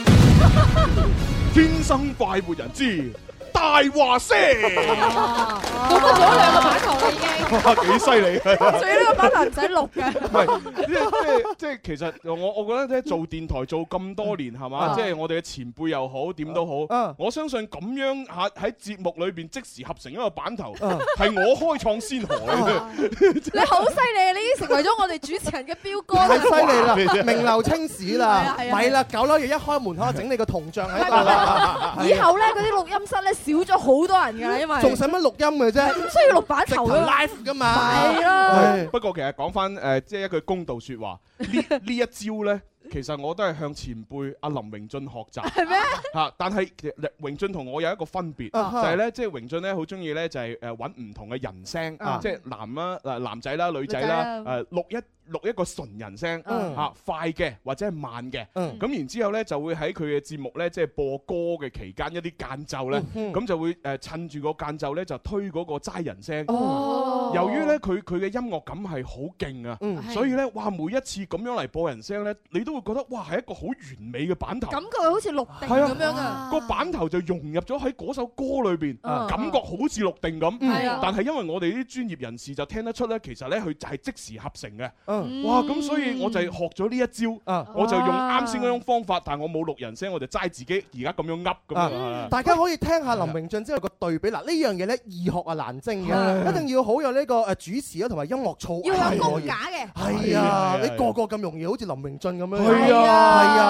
天生快活人之大話式， 做咗2個版頭啦已經。 哇，幾犀利！ 仲要呢個版頭唔使錄嘅。 唔係，即係其實我覺得咧，做電台做咁多年係嘛，即係我哋嘅前輩又好，點都好。我相信咁樣喺節目裏邊即時合成一個版頭，係我開創先河嘅。 你好犀利啊！你已經成為咗我哋主持人嘅標杆。 太犀利啦！名留青史啦，咪啦，9樓嘢一開門口整你個銅像喺度。 以後咧嗰啲錄音室咧少咗好多人㗎啦，因為仲使乜錄音嘅啫？ 唔需要錄版頭㗎 live 㗎嘛。 係咯。 不過其實講翻即係一句公道説話，呢一招咧。其實我都係向前輩阿林榮俊學習， 係咩？ 嚇！但係榮俊同我有一個分別，就係咧，即係榮俊咧好中意咧就係揾唔同嘅人聲，即係男仔啦、女仔啦，錄一個純人聲嚇，快嘅或者係慢嘅，咁然之後咧就會喺佢嘅節目咧即係播歌嘅期間一啲間奏咧，咁就會趁住個間奏咧就推嗰個齋人聲。由於咧佢嘅音樂感係好勁啊，所以咧哇每一次咁樣嚟播人聲咧，你都會覺得哇係一個好完美嘅版頭， 感覺好似錄定咁樣啊！ 個版頭就融入咗喺嗰首歌裏邊，感覺好似錄定咁。但係因為我哋啲專業人士就聽得出咧，其實咧佢就係即時合成嘅。哇！咁所以我就學咗呢一招，我就用啱先嗰種方法，但係我冇錄人聲，我就齋自己而家咁樣噏咁。 大家可以聽下林榮俊之後個對比。嗱呢樣嘢咧易學啊難精嘅，一定要好有呢個主持啊同埋音樂操。 要有功架嘅。 係啊，你個咁容易好似林榮俊咁樣。 係啊，所以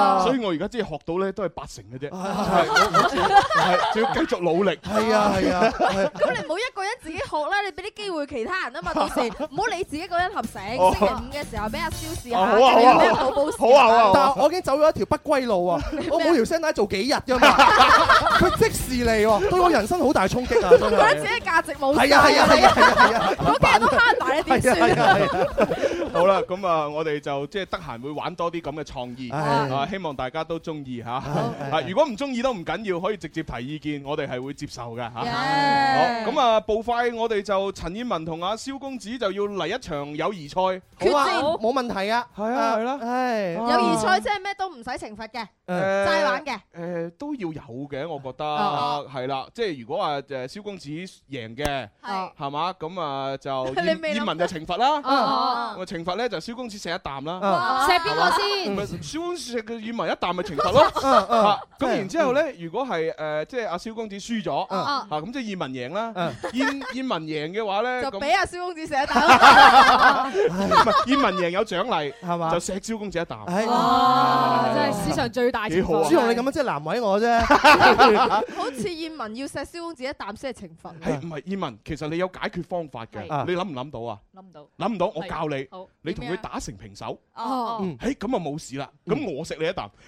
我而家即係學到咧都係80%嘅啫，係仲要繼續努力。 係啊係啊， 咁你唔好一個人自己學啦，你俾啲機會其他人啊嘛。到時唔好你自己一個人合成。星期5嘅時候俾阿蕭試下，跟住俾寶寶試下。 但係我已經走咗一條不歸路啊！我冇條聲帶做幾日㗎嘛，佢即時嚟喎，對我人生好大衝擊啊！真係覺得自己價值冇晒。 係啊係啊係啊係啊！ 嗰幾日都慳埋，你點算？ 好啦，咁啊，我哋就即係得閒會玩多啲咁嘅創意，希望大家都中意嚇。如果唔中意都唔緊要，可以直接提意見，我哋係會接受嘅嚇。好，咁啊，步快我哋就陳燕文同阿蕭公子就要嚟一場友誼賽， 好啊，冇問題啊， 係啊係啦， 係友誼賽即係咩都唔使懲罰嘅，齋玩嘅。 都要有嘅，我覺得係啦，即係如果話蕭公子贏嘅，係嘛，咁啊就燕文就懲罰啦，咁懲罰咧就蕭公子食一啖啦， 食邊個先？ 蕭公子食嘅燕文一啖咪懲罰咯，咁然之後咧，如果係即係阿蕭公子輸咗，咁即係燕文贏啦，燕文贏嘅話咧， 就俾阿蕭公子食一啖， 燕文贏有獎勵係嘛， 就錫蕭公子一啖， 哇！真係史上最大懲罰。 朱紅你咁樣即係難為我啫， 好似燕文要錫蕭公子一啖先係懲罰。 係唔係燕文？其實你有解決方法嘅，你諗唔諗到啊？諗唔到，我教你，你同佢打成平手，咁啊冇事啦。咁我食你一啖，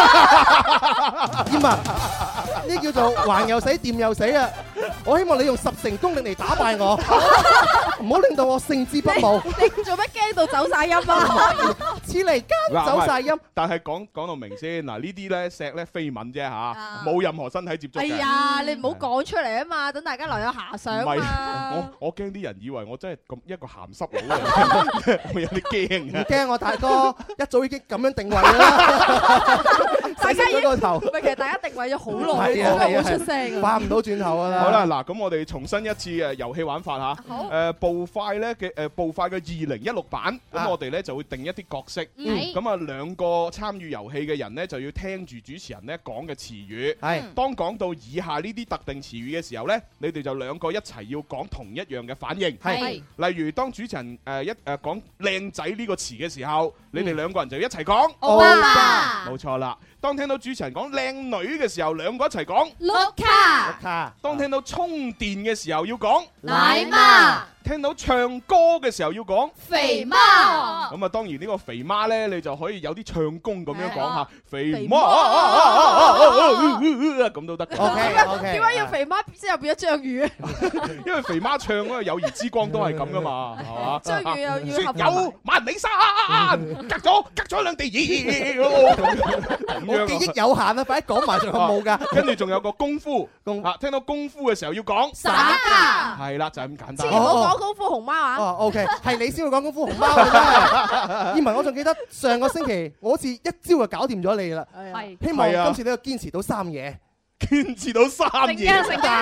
燕文呢叫做橫又死，掂又死啊！我希望你用10成功力嚟打敗我，唔好令到我勝之不武。 你做乜驚到走晒音啊？ 似嚟間走晒音。 但係講到明先，嗱呢啲咧錫咧飛吻啫嚇，冇任何身體接觸嘅。 哎呀，你唔好講出嚟啊嘛，等大家留有遐想啊嘛。 我驚啲人以為我真係咁一個鹹濕佬嚟，我有啲驚。 唔驚我大哥一早已經咁樣定位啦。 大家個頭， 唔係其實大家定位咗好耐，都冇出聲， 翻唔到轉頭㗎啦。 好啦，嗱咁我哋重新一次遊戲玩法嚇。好。步快咧嘅步快嘅2016版，咁我哋咧就會定一啲角色。咁啊兩個參與遊戲嘅人咧就要聽住主持人咧講嘅詞語。係。當講到以下呢啲特定詞語嘅時候咧，你哋就兩個一齊要講同一樣嘅反應。係。例如當主持人講靚仔呢個詞嘅時候，你哋兩個人就一齊講。歐巴。冇錯啦。當聽到主持人講靚女嘅時候，兩個一齊講。 碌卡。 當聽到充電嘅時候要講。 奶媽。 聽到唱歌嘅時候要講。 肥媽。 咁啊，當然呢個肥媽咧，你就可以有啲唱功咁樣講下。肥媽咁都得。 OK。點解要肥媽之後變咗章魚？ 因為肥媽唱嗰個友誼之光都係咁噶嘛，係嘛？ 章魚又要合。 有萬里山，隔咗兩地熱。 我記憶有限啊，快啲講埋仲有冇㗎？ 跟住仲有個功夫，聽到功夫嘅時候要講。 耍家。 係啦，就係咁簡單。 千祈唔好講功夫熊貓啊！ 哦，OK，係你先會講功夫熊貓嘅啫。燕文，我仲記得上個星期我好似一招就搞掂咗你啦。係。希望今次你要堅持到3嘢。 堅持到3嘢。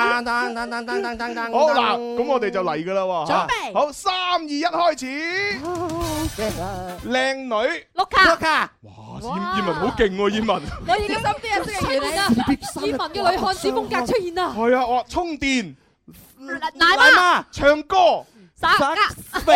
好嗱，咁我哋就嚟㗎啦喎。準備。好，3、2、1開始。靚女。碌卡。哇！燕文好勁喎，燕文。 我已經心啲人識嘅嘢啦。 燕文嘅女漢子風格出現啦。 係啊，哇！充電。 奶媽。 唱歌。 耍家。 肥。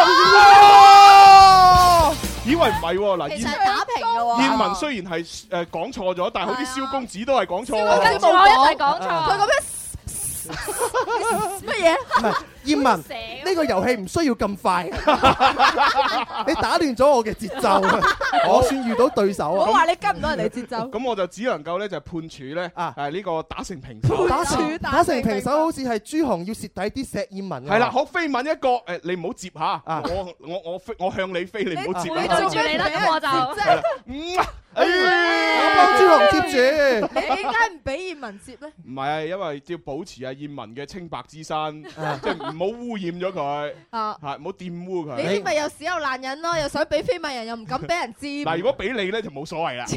以為唔係喎，嗱， 其實打平嘅喎。 燕文雖然係講錯咗，但係好似蕭公子都係講錯。 跟住我一齊講錯。佢咁樣乜嘢？ 唔係燕文，呢個遊戲唔需要咁快。你打亂咗我嘅節奏，我算遇到對手啊！ 我話你跟唔到人哋節奏。咁我就只能夠咧就判處咧呢個打成平手。 打成平手好似係朱紅要蝕底啲錫燕文。 係啦，好飛吻一個你唔好接嚇，我向你飛，你唔好接。 你對住你啦，咁我就。 我幫朱紅接住。 你點解唔俾燕文接咧？ 唔係，因為要保持阿燕文嘅清白之身，即係唔好污染咗佢，係唔好玷污佢。 你啲咪又屎又爛人咯，又想俾飛吻人，又唔敢俾人知。 嗱，如果俾你咧就冇所謂啦。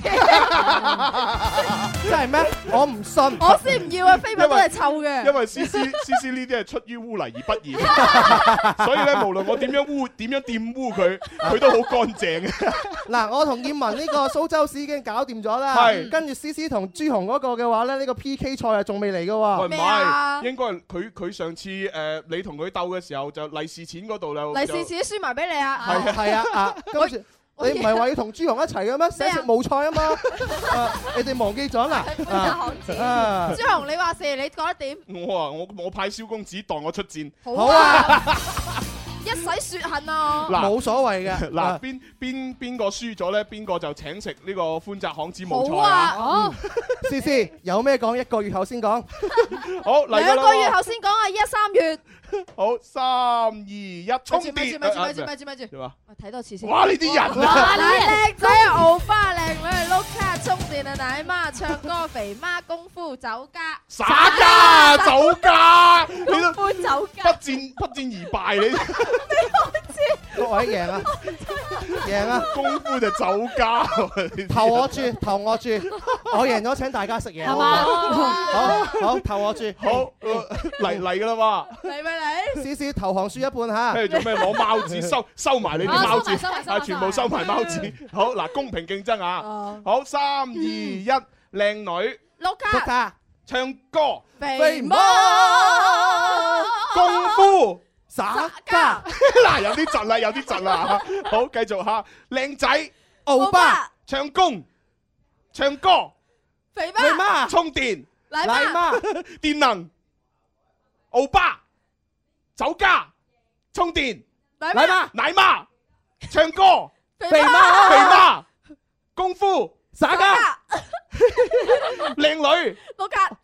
真係咩？我唔信。 我先唔要啊！飛吻都係臭嘅。 因為思思呢啲係出於污泥而不染，所以咧無論我點樣玷污佢，佢都好乾淨嘅。 嗱，我同燕文呢個蘇州市已經搞掂咗啦，跟住思思同朱紅嗰個嘅話咧，呢個 PK 賽啊仲未嚟嘅喎。 唔係，應該係佢上次你同佢鬥嘅時候就利是錢嗰度就利是錢輸埋俾你啊！ 係啊，跟住你唔係話要同朱紅一齊嘅咩？寫食冒菜啊嘛，你哋忘記咗啦？ 朱紅，你話事，你覺得點？ 我派蕭公子代我出戰。 好啊！ 一洗雪恨啊！ 冇所謂嘅。 嗱，邊個輸咗咧？邊個就請食呢個歡澤巷子冒菜好啊！ 好， 思思有咩講？1個月後先講。 好嚟㗎啦！2 個月後先講啊！依家3月。 好，3、2、1，衝電！ 咪住！睇多次先。 哇！呢啲人啊！靚仔啊，敖花靚女啊，碌卡充電啊，奶媽唱歌，肥媽功夫酒家。 耍家酒家， 功夫酒家。 不戰而敗你。 各位贏啊！贏啊！ 功夫就酒家。 投我注，我贏咗請大家食嘢。 係嘛？ 好，投我注。 好嚟㗎啦嘛！ 嚟咪嚟！ 思思投降輸一半嚇。 跟住做咩攞貓紙收埋你啲貓紙，全部收埋貓紙。好嗱，公平競爭啊！好，3、2、1，靚女。 碌卡。 唱歌。 肥媽。 功夫。 耍家。 嗱，有啲窒啦。好，繼續嚇。靚仔。 歐巴。 唱歌。 肥媽。 充電。 奶媽。 電能。歐巴。酒家。充電。奶媽。唱歌。 肥媽。 功夫。 耍家。 靚女。 碌卡。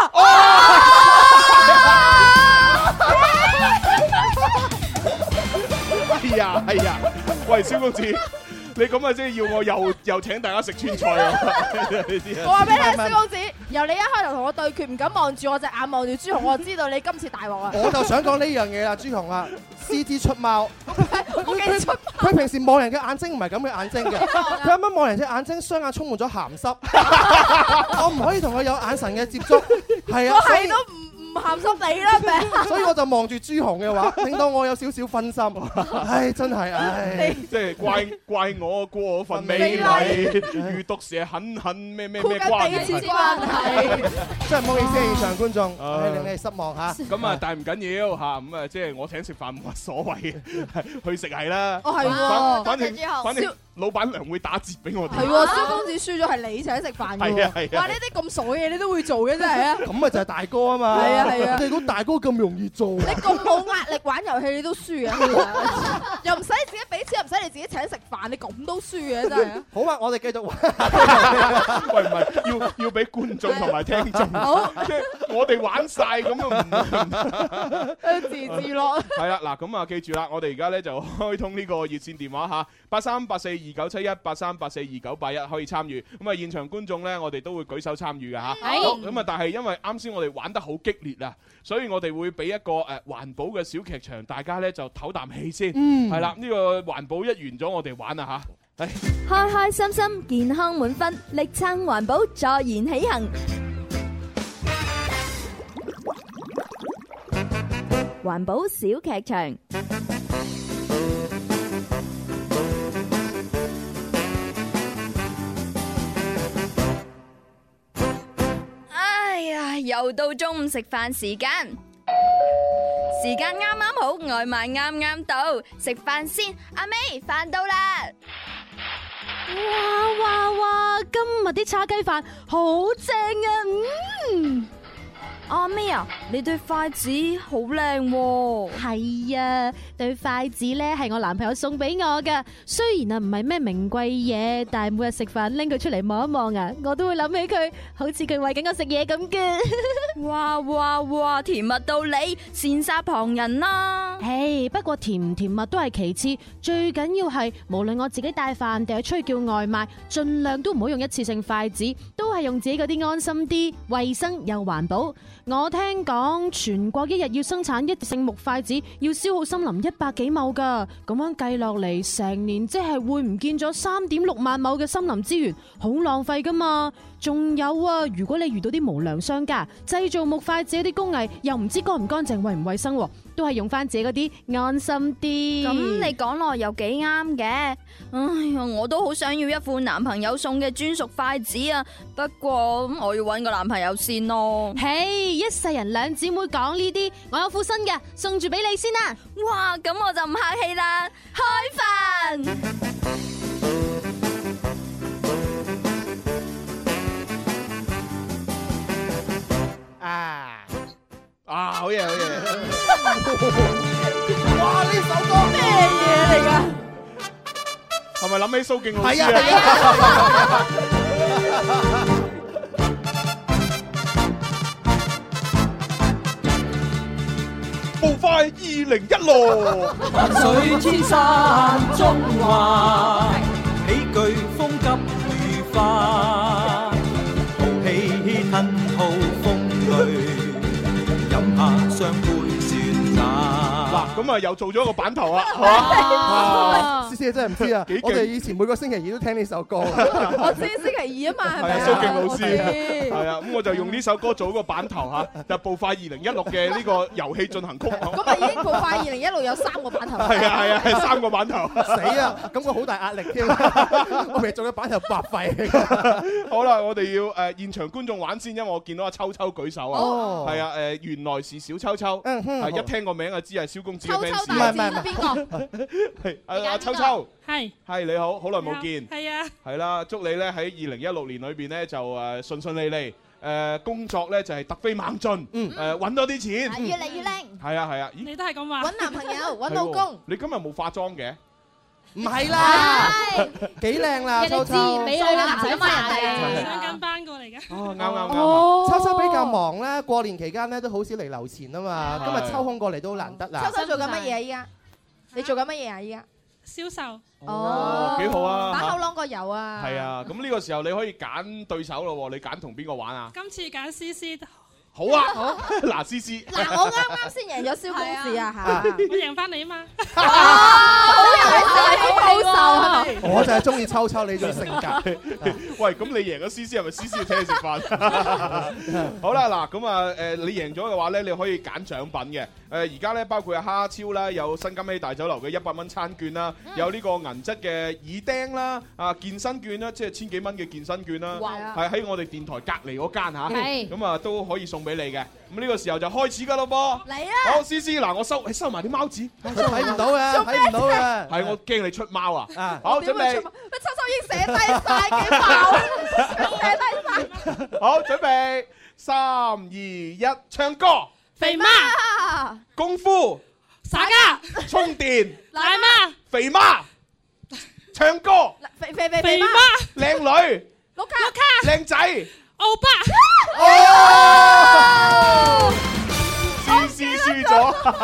哎呀，喂，蕭公子，你咁啊，即係要我又請大家食川菜啊！ 我話俾你聽，蕭公子，由你一開頭同我對決，唔敢望住我隻眼，望住朱紅，我就知道你今次大鑊啊！ 我就想講呢樣嘢啦，朱紅啊，獅子出貓， 佢平時望人嘅眼睛唔係咁嘅眼睛嘅，佢啱啱望人隻眼睛，雙眼充滿咗鹹濕，我唔可以同佢有眼神嘅接觸，係啊， 我係都唔鹹濕你啦，咪， 所以我就望住朱紅嘅話，令到我有少少分心，唉，真係唉， 即係怪我過分美麗，遇毒蛇狠咩關係？ 真係唔好意思，現場觀眾，令你哋失望嚇。 咁啊，但係唔緊要嚇，咁啊，即係我請食飯冇乜所謂嘅，去食係啦。 哦，係喎， 反正老闆娘會打折俾我哋。 係喎，蕭公子輸咗係你請食飯嘅喎。 係啊。 哇！呢啲咁傻嘅嘢你都會做嘅真係啊。 咁咪就係大哥啊嘛。 係啊。 你估大哥咁容易做？ 你咁冇壓力玩遊戲你都輸啊！又唔使你自己俾錢，又唔使你自己請食飯，你咁都輸嘅真係。 好啊，我哋繼續玩。 喂，唔係要俾觀眾同埋聽眾。好，即係我哋玩晒咁啊， 自樂。 係啦，嗱咁啊，記住啦，我哋而家咧就開通呢個熱線電話嚇，83842971，83842981可以參與。咁啊，現場觀眾咧，我哋都會舉手參與嘅嚇。咁啊，但係因為啱先我哋玩得好激烈啊，所以我哋會俾一個環保嘅小劇場，大家咧就唞啖氣先。係啦，呢個環保一完咗，我哋玩啦嚇。 開開心心，健康滿分，力撐環保，坐言起行。環保小劇場。哎呀，又到中午食飯時間，時間啱啱好，外賣啱啱到，食飯先。阿妹，飯到啦！ 哇！今日啲叉雞飯好正啊！ 阿妹啊，你對筷子好靚喎。 係啊，對筷子咧係我男朋友送俾我噶。雖然啊唔係咩名貴嘢，但係每日食飯拎佢出嚟望一望啊，我都會諗起佢，好似佢餵緊我食嘢咁嘅。 哇！甜蜜到你羨煞旁人啦。 唉，不過甜唔甜蜜都係其次，最緊要係無論我自己帶飯定係出去叫外賣，盡量都唔好用一次性筷子，都係用自己嗰啲安心啲、衛生又環保。我聽講全國一日要生產一次性木筷子，要消耗森林100幾畝噶，咁樣計落嚟，成年即係會唔見咗3.6萬畝嘅森林資源，好浪費噶嘛。仲有啊，如果你遇到啲無良商家製造木筷子啲工藝又唔知乾唔乾淨、衛唔衛生，都係用翻自己嗰啲安心啲。 咁你講落又幾啱嘅。哎呀，我都好想要一副男朋友送嘅專屬筷子啊，不過我要搵個男朋友先咯。 嘿，一世人兩姊妹講呢啲，我有副新嘅送住俾你先啦。 哇，咁我就唔客氣啦，開飯。 好嘢，好嘢！ 哇！呢首歌咩嘢嚟㗎？ 係咪諗起蘇敬老師係啊？ 步快2016， 萬水千山中華，喜劇風急雨花，豪氣吞吐風淚，飲下雙杯雪茶。 嗱，咁啊又做咗個版頭啊，係嘛？ 思思真係唔知啊！我哋以前每個星期二都聽呢首歌。 我知星期二啊嘛，係咪啊？ 蘇敬老師係啊，咁我就用呢首歌做個版頭嚇，就步快2016嘅呢個遊戲進行曲。 咁啊已經步快2016有3個版頭。 係啊，係3個版頭。 死啊！感覺好大壓力添。我未做嘅版頭白費。 好啦，我哋要現場觀眾玩先，因為我見到阿秋秋舉手啊。哦。係啊，原來是小秋秋。係一聽個名就知係蕭公子嘅 fans。 秋秋大戰邊個？ 係阿秋秋。 係你好，好耐冇見。 係啊。係啦，祝你咧喺2016年裏邊咧就順順利利，工作咧就係突飛猛進，揾多啲錢， 越嚟越靚。 係啊。咦？ 你都係咁話。 揾男朋友，揾老公。 你今日冇化妝嘅？ 唔係啦，幾靚啦，秋秋。 美女唔使罵人哋。 上緊班過嚟嘅。 哦，啱。 秋秋比較忙咧，過年期間咧都好少嚟留錢啊嘛。今日抽空過嚟都難得啦。 秋秋做緊乜嘢啊？依家你做緊乜嘢啊？依家銷售。 哦，幾好啊！ 把口啷個油啊！ 係啊，咁呢個時候你可以揀對手咯喎，你揀同邊個玩啊？ 今次揀思思。 好啊，嗱，思思。 嗱，我啱先贏咗蕭公子啊嚇， 我贏翻你啊嘛。 好報仇啊！ 我就係中意秋秋你種性格。 喂，咁你贏咗思思，係咪思思要請你食飯？好啦，嗱，咁啊，你贏咗嘅話咧，你可以揀獎品嘅。而家咧包括蝦超啦，有新金禧大酒樓嘅100蚊餐券啦，有呢個銀質嘅耳釘啦，健身券啦，即係1000幾蚊嘅健身券啦，係喺我哋電台隔離嗰間嚇，咁啊都可以送俾你嘅。咁呢個時候就開始㗎咯噃。嚟啊！好，思思，嗱，我收埋啲貓紙， 睇唔到嘅，睇唔到嘅。 係我驚你出貓啊！好，準備。 秋秋已經寫低晒幾爆，寫低晒。 好，準備3、2、1，唱歌。 肥媽。 功夫。 耍家。 充電。 奶媽。 肥媽。唱歌。 肥媽。 靚女。 碌卡。 靚仔。 歐巴。 思思輸咗。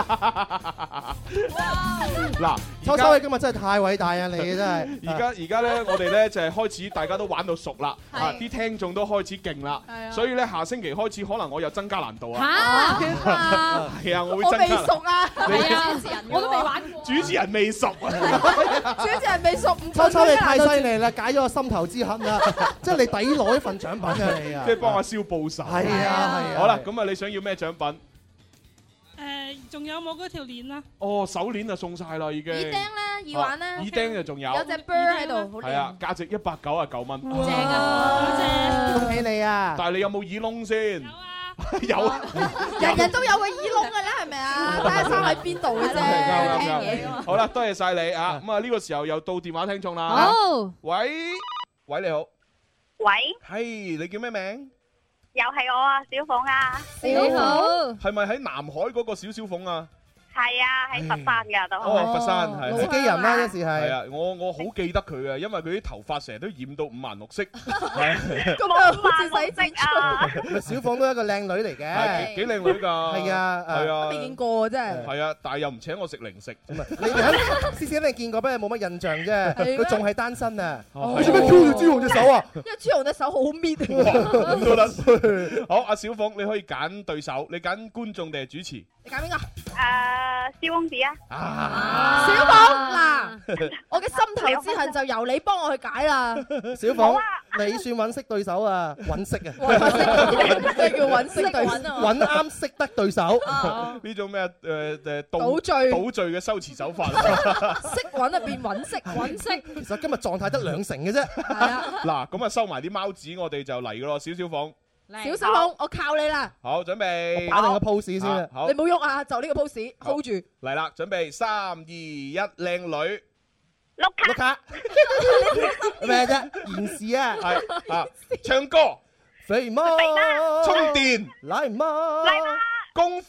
嗱， 秋秋你今日真係太偉大啊！你真係。 而家咧，我哋咧就係開始，大家都玩到熟啦，啲聽眾都開始勁啦，所以咧下星期開始可能我又增加難度啊。係啊，我會增加。我未熟啊， 係啊，我都未玩過。 主持人未熟啊。 主持人未熟， 秋秋你太犀利啦，解咗我心頭之恨啦，即係你抵攞一份獎品啊你啊！ 即係幫阿蕭報仇。 係啊。 好啦，咁啊，你想要咩獎品？ 仲有冇嗰條鏈啊？ 哦，手鏈就送晒啦，已經。 耳釘啦，耳環啦。 耳釘就仲有。 有隻 bird 喺度，好靚。 係啊，價值199蚊。 正啊！ 多謝。 恭喜你啊！ 但係你有冇耳窿先？有啊。 人人都有個耳窿㗎啦，係咪啊？睇下生喺邊度嘅啫。聽嘢㗎嘛。 好啦，多謝晒你啊！咁啊，呢個時候又到電話聽眾啦。 好。 喂，你好。 喂。 係，你叫咩名？ 又係我啊，小鳳啊！ 你好， 係咪喺南海嗰個小小鳳啊？ 係啊，喺佛山㗎都。 哦，佛山係。 自己人啦，一時係。 係啊，我好記得佢嘅，因為佢啲頭髮成日都染到五顏六色。 咁啊，好似洗剪吹。 小鳳都係一個靚女嚟嘅。 係幾靚女㗎？ 係啊， 係啊。 未見過真係。 係啊，但係又唔請我食零食。 你哋思思一定見過，不過冇乜印象啫。佢仲係單身啊！ 你做咩挑住朱紅隻手啊？ 因為朱紅隻手好搣。 咁都得。好，阿小鳳，你可以揀對手，你揀觀眾定係主持？ 你揀邊個？ 蕭公子啊！ 小鳳，嗱，我嘅心頭之恨就由你幫我去解啦。 小鳳，你算揾識對手啊，揾識啊， 咩叫揾識對手？ 揾啱識得對手。 呢種咩倒序嘅修辭手法。 識揾啊變揾識，揾識。 其實今日狀態得2成嘅啫。 係啊。 嗱，咁啊收埋啲貓紙，我哋就嚟噶咯，小鳳。 小小鳳，我靠你啦！ 好，準備打定個 pose 先啊！ 好， 你冇喐啊，就呢個 pose hold 住。 嚟啦，準備3、2、1，靚女。 碌卡。咩啫？延時啊！ 係啊，唱歌。 肥媽。 充電。 奶媽。 功夫。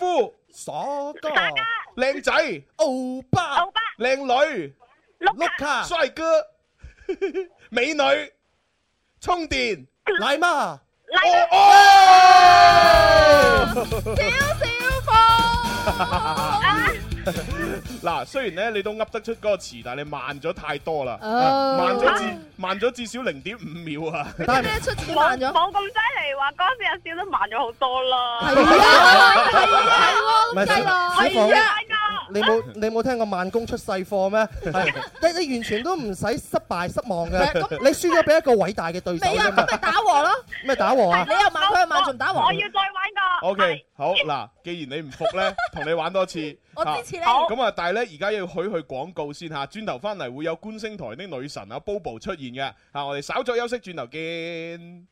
傻哥， 靚仔， 歐巴， 靚女， 碌卡， 帥哥，美女，充電， 奶媽， 嗱，雖然咧你都噏得出嗰個詞，但係你慢咗太多啦，慢咗至少0.5秒啊！ 但係咩出字慢咗？ 冇咁犀利，話嗰時有少都慢咗好多啦。 唔係小鳳，你冇聽過慢工出細貨咩？你完全都唔使失望嘅，你輸咗俾一個偉大嘅對手。 未啊，咁咪打和咯。 咩打和啊？ 你又慢，佢又慢，仲打和。 我要再玩個。 OK， 好嗱，既然你唔服咧，同你玩多次。 我支持你。 咁啊，但係咧，而家要去廣告先嚇，轉頭翻嚟會有觀星台的女神啊 Bobo 出現嘅嚇，我哋稍作休息，轉頭見。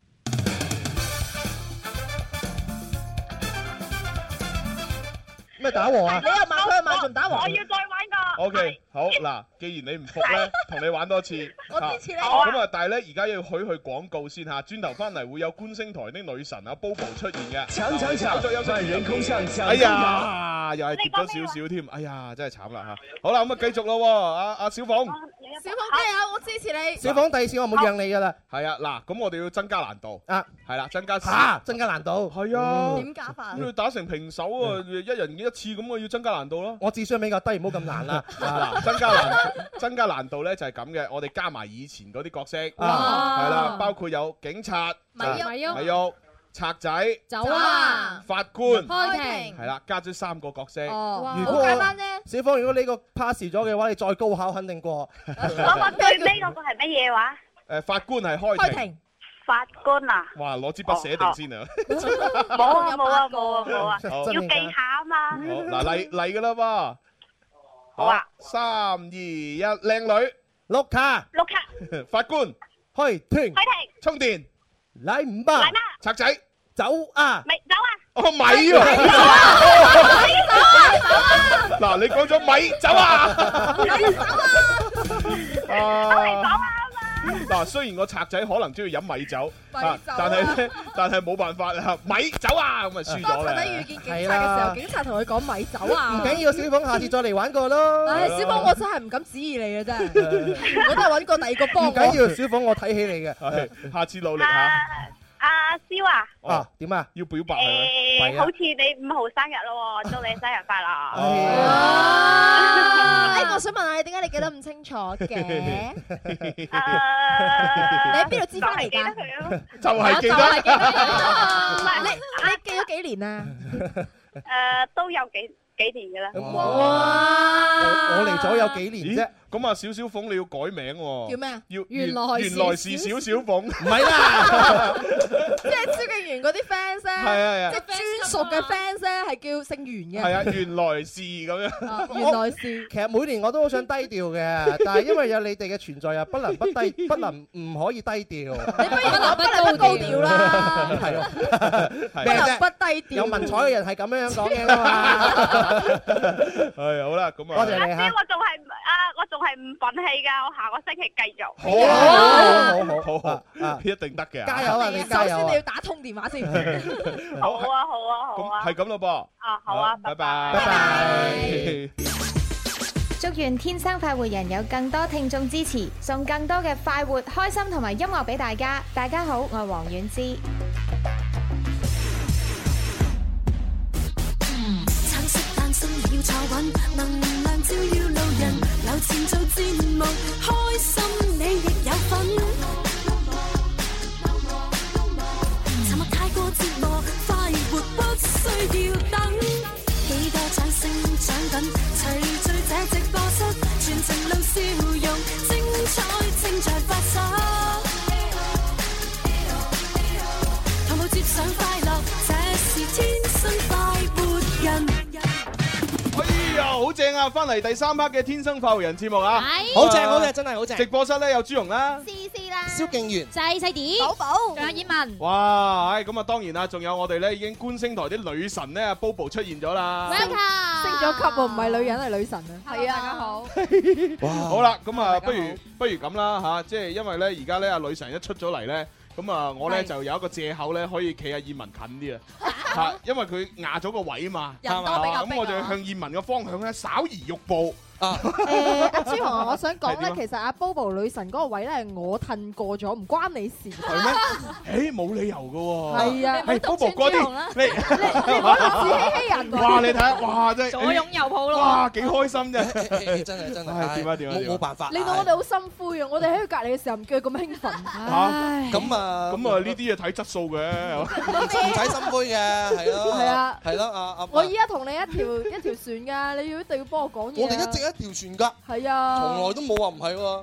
咩打和啊？ 你又慢，佢又慢，仲打和。 我要再玩個。 OK， 好嗱，既然你唔服咧，同你玩多次。 我支持你。 咁啊，但係咧，而家要去廣告先嚇，轉頭翻嚟會有觀星台的女神啊 Bobo 出現嘅。稍作休息，人空上哎呀，又係跌咗少少添，哎呀，真係慘啦嚇。好啦，咁啊繼續咯喎，阿小鳳。 小鳳加油，我支持你。 小鳳第二次我冇讓你噶啦。 係啊，嗱，咁我哋要增加難度。 啊， 係啦，增加難度。 係啊。 點加法？ 咁要打成平手啊，一人一次咁啊，要增加難度咯。 我智商比較低，唔好咁難啦。 嗱，增加難度咧就係咁嘅，我哋加埋以前嗰啲角色，係啦，包括有警察、 米喐、賊仔、 走啊、 法官、 開庭， 係啦，加咗3個角色。 好簡單啫。 小鳳，如果你個 pass 咗嘅話，你再高考肯定過。 我最尾嗰個係乜嘢話？ 法官係開庭。 法官啊！ 哇，攞支筆寫定先啊！ 冇啊！要技巧啊嘛。 好嗱，嚟噶啦噃。 好啊 ！3、2、1，靚女， 碌卡， 法官， 開庭， 充電， 嚟5百， 賊仔， 走啊！ 咪走啊！ 哦，米喎！嗱，你講咗米走啊！嗱，雖然個賊仔可能中意飲米酒，但係冇辦法啊！米走啊，咁啊輸咗啦。 當賊仔遇見警察嘅時候，警察同佢講米走啊。 唔緊要，小鳳下次再嚟玩過咯。 唉，小鳳我真係唔敢指意你嘅真係，我都係揾個第二個幫我。 唔緊要，小鳳我睇起你嘅， 下次努力下。 阿蕭啊， 點啊？ 要表白係好似你5號生日咯，祝你生日快樂。 我想問下你點解你記得咁清楚嘅？你喺邊度知翻嚟㗎？ 就係記得。 唔係你記咗幾年啊？ 都有幾年嘅啦。 我嚟咗有幾年啫。 咁啊，小小鳳你要改名喎。 叫咩啊？ 原來是小小鳳。唔係啦， 即係蕭敬元嗰啲 fans 咧，即係專屬嘅 fans 咧，係叫姓袁嘅。 係啊，原來是咁樣。 原來是。 其實每年我都好想低調嘅，但係因為有你哋嘅存在啊，不能唔可以低調。 你不如不高調啦。 係咯， 不能不低調。 有文采嘅人係咁樣講嘅嘛。 係好啦，咁啊。多謝你嚇。 我仲係唔忿氣㗎，我下個星期繼續。 好，一定得嘅。 加油啊！你加油啊！ 首先你要打通電話先。 好啊。 係咁咯噃。 好啊， 拜拜。 祝願天生快活人有更多聽眾支持，送更多嘅快活、開心同埋音樂俾大家。大家好，我係黃婉之。 橙色誕生要坐穩，能量照耀路人，留前做節目，開心你亦有份。沉默太過折磨，快活不需要等。幾多掌聲獎品，齊聚這直播室，全程露笑容，精彩正在發生。同步接上快樂，這是天生快活人。 哎呀，好正啊！翻嚟第3 part 嘅天生快活人節目啊， 好正，真係好正。 直播室咧有朱紅啦、 C 啦、 蕭敬元、 細啲、 寶寶， 仲有葉文。 哇，咁啊當然啦，仲有我哋咧已經觀星台啲女神咧 Bobo 出現咗啦。 Welcome，升咗級喎，唔係女人係女神啊。係啊，大家好。 哇，好啦，咁啊不如咁啦嚇，即係因為咧而家咧阿女神一出咗嚟咧。咁啊，我咧就有一個藉口咧，可以企阿葉文近啲啊！ 嚇，因為佢壓咗個位啊嘛， 人多比較逼啊咁我就向燕文嘅方向咧稍移玉步。 阿朱紅，我想講咧，其實阿 Bobo 女神嗰個位咧係我褪過咗，唔關你事。 係咩？誒冇理由嘅喎。 係啊， 係 Bobo 嗰啲， 你唔好自欺欺人。 哇！你睇下，哇！真係左擁右抱咯。 哇！幾開心啫！ 真係點啊點啊！ 冇辦法。 令到我哋好心灰啊！我哋喺佢隔離嘅時候唔叫佢咁興奮。 咁啊呢啲嘢睇質素嘅， 唔使心灰嘅，係咯。 係啊， 係咯， 我依家同你一條船㗎，你要一定要幫我講嘢。 我哋一直一條船㗎。 係啊， 從來都冇話唔係喎。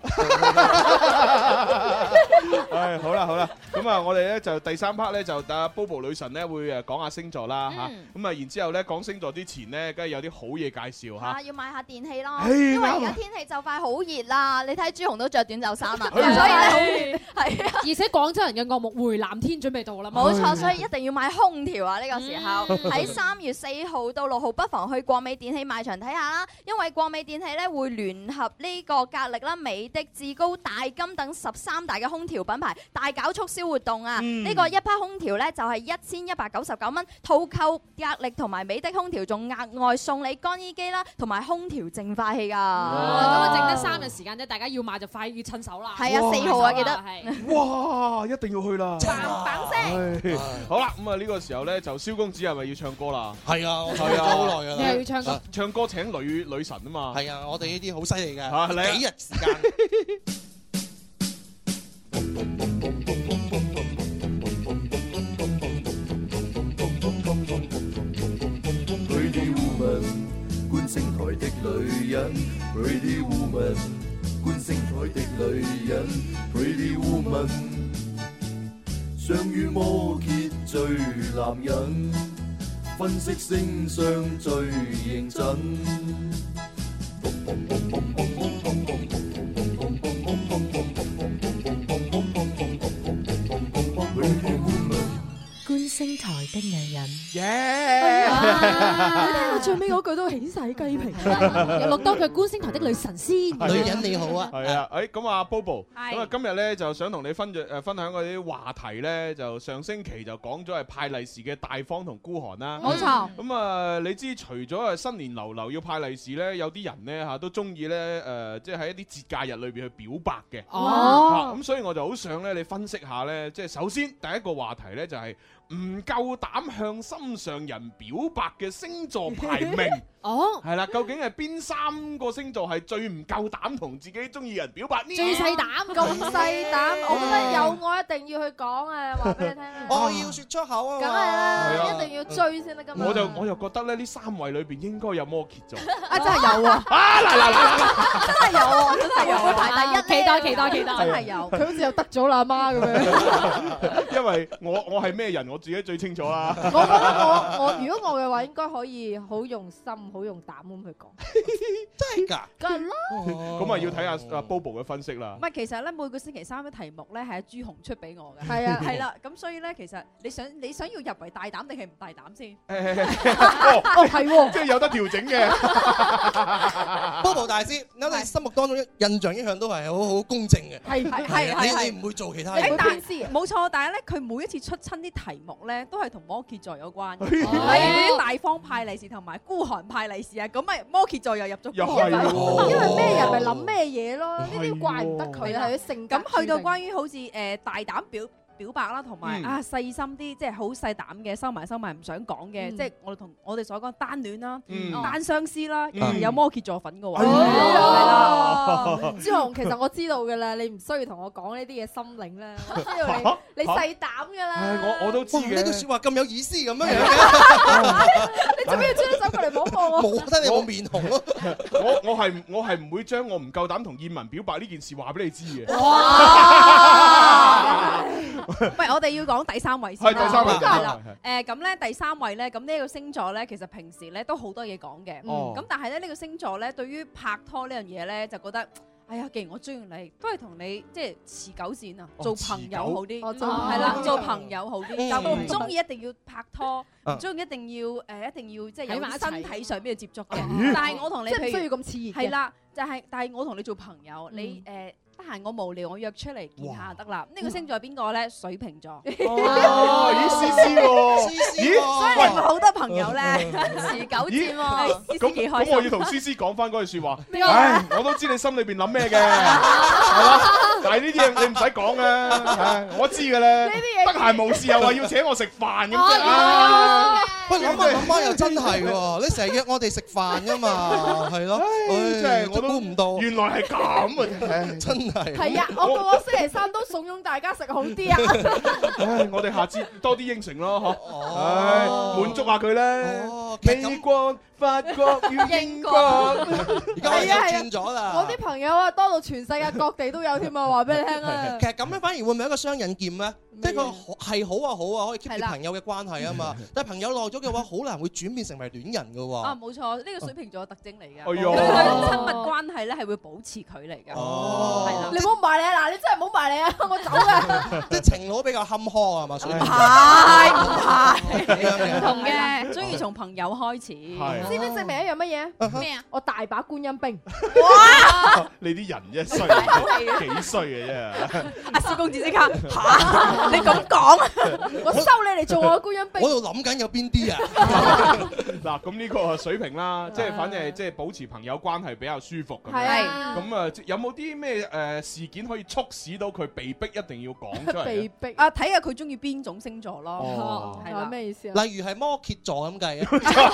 唉，好啦，咁啊，我哋咧就第三 part 咧就阿 Bobo 女神咧會誒講下星座啦嚇，咁啊然之後咧講星座之前咧，梗係有啲好嘢介紹嚇。 要買下電器咯， 唉因為而家天氣就快好熱啦，你睇朱紅都着短袖衫啦，所以好咧係啊， 而且廣州人嘅噩夢回南天準備到啦， 冇錯，所以一定要買空調啊！呢個時候喺3月4號到6號，不妨去國美電器賣場睇下啦，因為國美電器咧會聯合呢個格力啦、美的、志高、大金等13大嘅空調品牌大搞促銷活動啊！呢個一批空調咧就係1199蚊，套購格力同埋美的空調，仲額外送你乾衣機啦同埋空調淨化器㗎。咁啊，剩得3日時間啫，大家要買就快要趁手啦。 係啊，4號啊，記得。 哇！一定要去啦。 嘭聲。 好啦，咁啊呢個時候咧就蕭公子係咪要唱歌啦？ 係啊，我唱咗好耐㗎啦。 你又要唱歌？ 唱歌請女神啊嘛。 係啊，我哋呢啲好犀利嘅。幾日時間 ？Pretty woman， 觀星台的女人 ，Pretty woman， 觀星台的女人 ，Pretty woman， 相與摩羯最男人，分析星相最認真。 觀星台的女人， 你聽我最尾嗰句都起晒雞皮， 又錄多句觀星台的女神先。 女人你好啊， 係啊，咁啊 Bobo，咁啊今日咧就想同你分享嗰啲話題咧，就上星期就講咗係派利是嘅大方同孤寒啦。 冇錯。 咁啊，你知除咗係新年流流要派利是咧，有啲人咧嚇都中意咧即係喺一啲節假日裏邊去表白嘅。咁所以我就好想咧，你分析下咧，即係首先第一個話題咧就係唔夠膽向心上人表白嘅星座排名。係啦，究竟係邊3個星座係最唔夠膽同自己中意人表白呢？ 最細膽，咁細膽，我覺得有愛一定要去講啊！話俾你聽啊！ 我要説出口啊！ 梗係啦，一定要追先得㗎嘛！ 我就覺得咧，呢3位裏邊應該有摩羯座。 啊，真係有啊！ 嗱， 真係有啊！真係有會排第一， 期待， 真係有。佢好似又得咗啦，阿媽咁樣。 因為我係咩人，我自己最清楚啦。 我覺得我如果我嘅話，應該可以好用心、好用膽咁去講。 真係㗎？ 梗係啦。 咁啊，要睇下阿 Bobo 嘅分析啦。 唔係，其實咧每個星期3嘅題目咧係阿朱紅出俾我嘅。 係啊， 係啦。咁所以咧，其實你想要入圍大膽定係唔大膽先？ 係喎， 即係有得調整嘅。 Bobo 大師，我哋心目當中印象一向都係好公正嘅。 係你唔會做其他嘢。 但係冇錯，但係咧佢每一次出親啲題目咧，都係同摩羯座有關。例如嗰啲大方派利是同埋孤寒派利是啊，咁咪摩羯座又入咗孤寒派。 因為咩人咪諗咩嘢咯，呢啲怪唔得佢係佢性格。 咁去到關於好似大膽表白啦，同埋細心啲，即係好細膽嘅，收埋唔想講嘅，即係我哋所講單戀啦、單相思啦，有摩羯座粉嘅喎。 朱紅，其實我知道嘅啦，你唔需要同我講呢啲嘢心領啦，我知道你細膽嘅啦。 我都知嘅。 呢句説話咁有意思咁樣嘅， 你做咩要將手過嚟摸我？ 冇得你我面紅咯。 我係唔會將我唔夠膽同燕文表白呢件事話俾你知嘅。 喂，我哋要講第3位先啦。 係第3位。 係啦。咁咧第3位咧，咁呢一個星座咧，其實平時咧都好多嘢講嘅。咁但係咧呢個星座咧，對於拍拖呢樣嘢咧，就覺得，哎呀，既然我中意你，都係同你即係持久戰啊，做朋友好啲。係啦，做朋友好啲，就唔中意一定要拍拖，唔中意一定要即係有身體上邊嘅接觸嘅。但係我同你即係唔需要咁熾熱嘅。 係啦，但係我同你做朋友，你得閒我無聊，我約出嚟見下就得啦。呢個星座係邊個咧？水瓶座。 咦，思思喎， 思思所以你咪好多朋友咧，持久戰喎。 咁我要同思思講翻嗰句説話。唉，我都知你心裏邊諗咩嘅，係嘛？但係呢啲嘢你唔使講嘅，我知嘅咧。得閒無事又話要請我食飯咁啫。 喂，諗下又真係喎，你成日約我哋食飯㗎嘛，係咯？ 真係我都估唔到， 原來係咁啊！ 真係。 係啊，我個星期三都慫恿大家食好啲啊！ 唉，我哋下次多啲應承咯，嗬。唉，滿足下佢咧。美國、法國與英國， 而家又轉咗啦。 我啲朋友啊，多到全世界各地都有添啊！話俾你聽啊。 其實咁樣反而會唔會一個雙刃劍咧？即係個係好啊好啊，可以 keep 住朋友嘅關係啊嘛。但係朋友耐咗嘅話，好難會轉變成為戀人㗎喎。 啊，冇錯，呢個水瓶座嘅特徵嚟嘅。 哎呦， 佢對親密關係咧係會保持距離嘅。 哦， 係啦， 你唔好埋嚟啊！嗱，你真係唔好埋嚟啊！我走嘅。 即係情路比較坎坷啊嘛，水瓶。 唔同嘅，中意從朋友開始。 知唔知證明一樣乜嘢？ 咩啊？ 我大把觀音兵。 哇！你啲人啫衰，幾衰嘅啫。 阿蕭公子即刻嚇，你咁講， 我收你嚟做我嘅觀音兵。 我喺度諗緊有邊啲啊？ 嗱，咁呢個水平啦，即係反正係即係保持朋友關係比較舒服咁樣。 係咁啊，有冇啲咩事件可以促使到佢被逼一定要講出嚟？ 被逼啊，睇下佢中意邊種星座咯。 係啦，咩意思啊？ 例如係摩羯座咁計啊？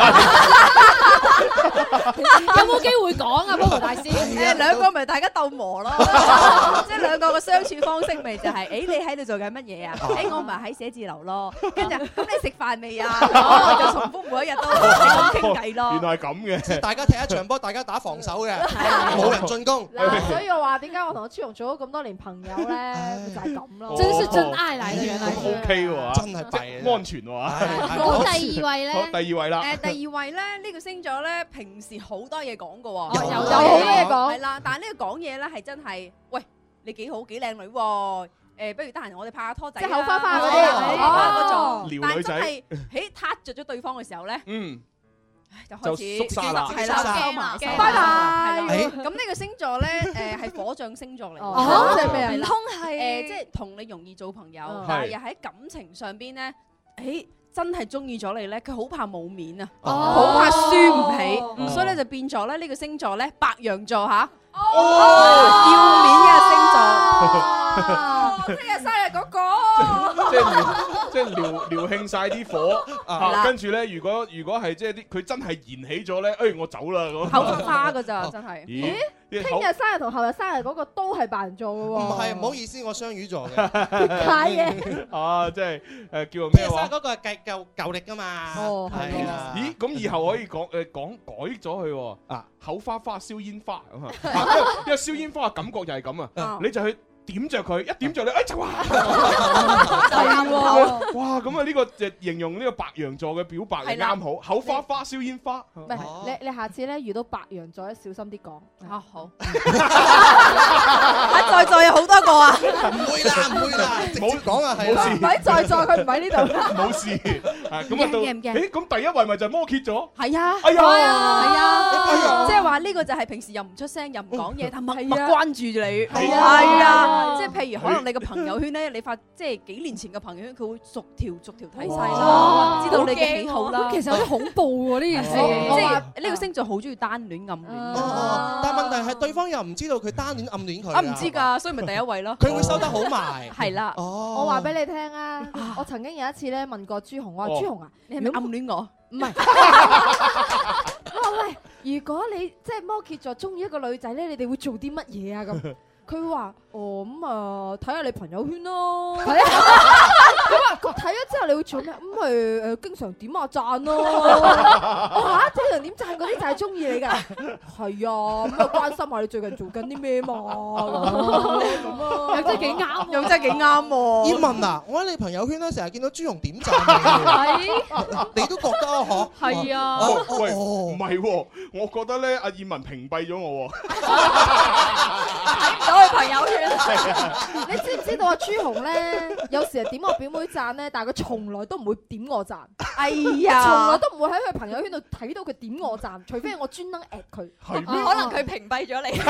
有冇機會講啊，波波大師？ 兩個咪大家鬥磨咯，即係兩個嘅相處方式咪就係，你喺度做緊乜嘢啊？我咪喺寫字樓咯，跟住咁你食飯未啊？就重複每一日都咁傾偈咯。 原來係咁嘅， 即係大家踢一場波，大家打防守嘅，冇人進攻。 嗱，所以我話點解我同朱紅做咗咁多年朋友咧，就係咁咯。 真是真愛嚟嘅，原來。 OK 喎， 真係弊， 安全喎。 好，第二位咧。 好，第二位啦。 第二位咧，呢個星座咧，平時好多嘢講嘅喎。 有好多嘢講。 係啦，但係呢個講嘢咧係真係，喂，你幾好幾靚女喎。不如得閒我哋拍下拖仔啦， 即係口花花嗰啲， 但係真係喺撻着咗對方嘅時候咧，就開始縮沙啦， 係啦，收埋， 拜拜。 咁呢個星座咧，係火象星座嚟嘅，即係咩啊？ 唔通係即係同你容易做朋友，但係又喺感情上邊咧，真係中意咗你咧，佢好怕冇面啊，好怕輸唔起，所以咧就變咗咧呢個星座咧白羊座嚇，要面嘅星座。 聽日生日嗰個， 即係撩興晒啲火啊！跟住咧，如果係即係啲佢真係燃起咗咧，我走啦咁。 口花㗎咋，真係。 咦？聽日生日同後日生日嗰個都係白羊座嘅喎。 唔係，唔好意思，我雙魚座嘅。 係嘅。 啊，即係叫做咩話？ 嗰個係舊歷㗎嘛。 哦，係啊。 咦？咁以後可以講改咗佢喎。啊，口花花燒煙花咁啊！因為燒煙花嘅感覺就係咁啊，你就去點着佢，一點着你，就哇！哇！咁啊，呢個就形容呢個白羊座嘅表白係啱好，口花花燒煙花。 唔係，你下次咧遇到白羊座咧，小心啲講。 啊好。在座有好多個啊！ 唔會啦，冇講啊，係冇事。 唔喺在座，佢唔喺呢度。 冇事。咁啊到，咁第一位咪就係摩羯座。 係啊。 哎呀， 係啊，即係話呢個就係平時又唔出聲，又唔講嘢，但默默關注住你。係啊。即係譬如可能你個朋友圈咧，你發即係幾年前嘅朋友圈，佢會逐條睇晒啦，知道你嘅喜好啦。 其實有啲恐怖喎呢件事， 即係呢個星座好中意單戀暗戀。 但係問題係對方又唔知道佢單戀暗戀佢。 唔知㗎，所以咪第一位咯。 佢會收得好埋。 係啦。 我話俾你聽啊，我曾經有一次咧問過朱紅，我話朱紅啊， 你係咪暗戀我？ 唔係。我話喂，如果你即係摩羯座中意一個女仔咧，你哋會做啲乜嘢啊咁？佢話：咁啊，睇下你朋友圈咯。佢話睇咗之後你會做咩？咁咪經常點下讚咯。我嚇，經常點讚嗰啲就係中意你㗎。係啊，咁啊關心下你最近做緊啲咩嘛。咁啊， 又真係幾啱， 又真係幾啱喎。 葉文啊，我喺你朋友圈咧成日見到朱紅點讚你都覺得啊？嗬。 係啊。 喂，唔係喎，我覺得咧阿葉文屏蔽咗我喎。 我去朋友圈， 你知唔知道啊？朱紅咧，有時係點我表妹讚咧，但係佢從來都唔會點我讚。 哎呀， 從來都唔會喺佢朋友圈度睇到佢點我讚，除非係我專登 at 佢。 可能佢屏蔽咗你。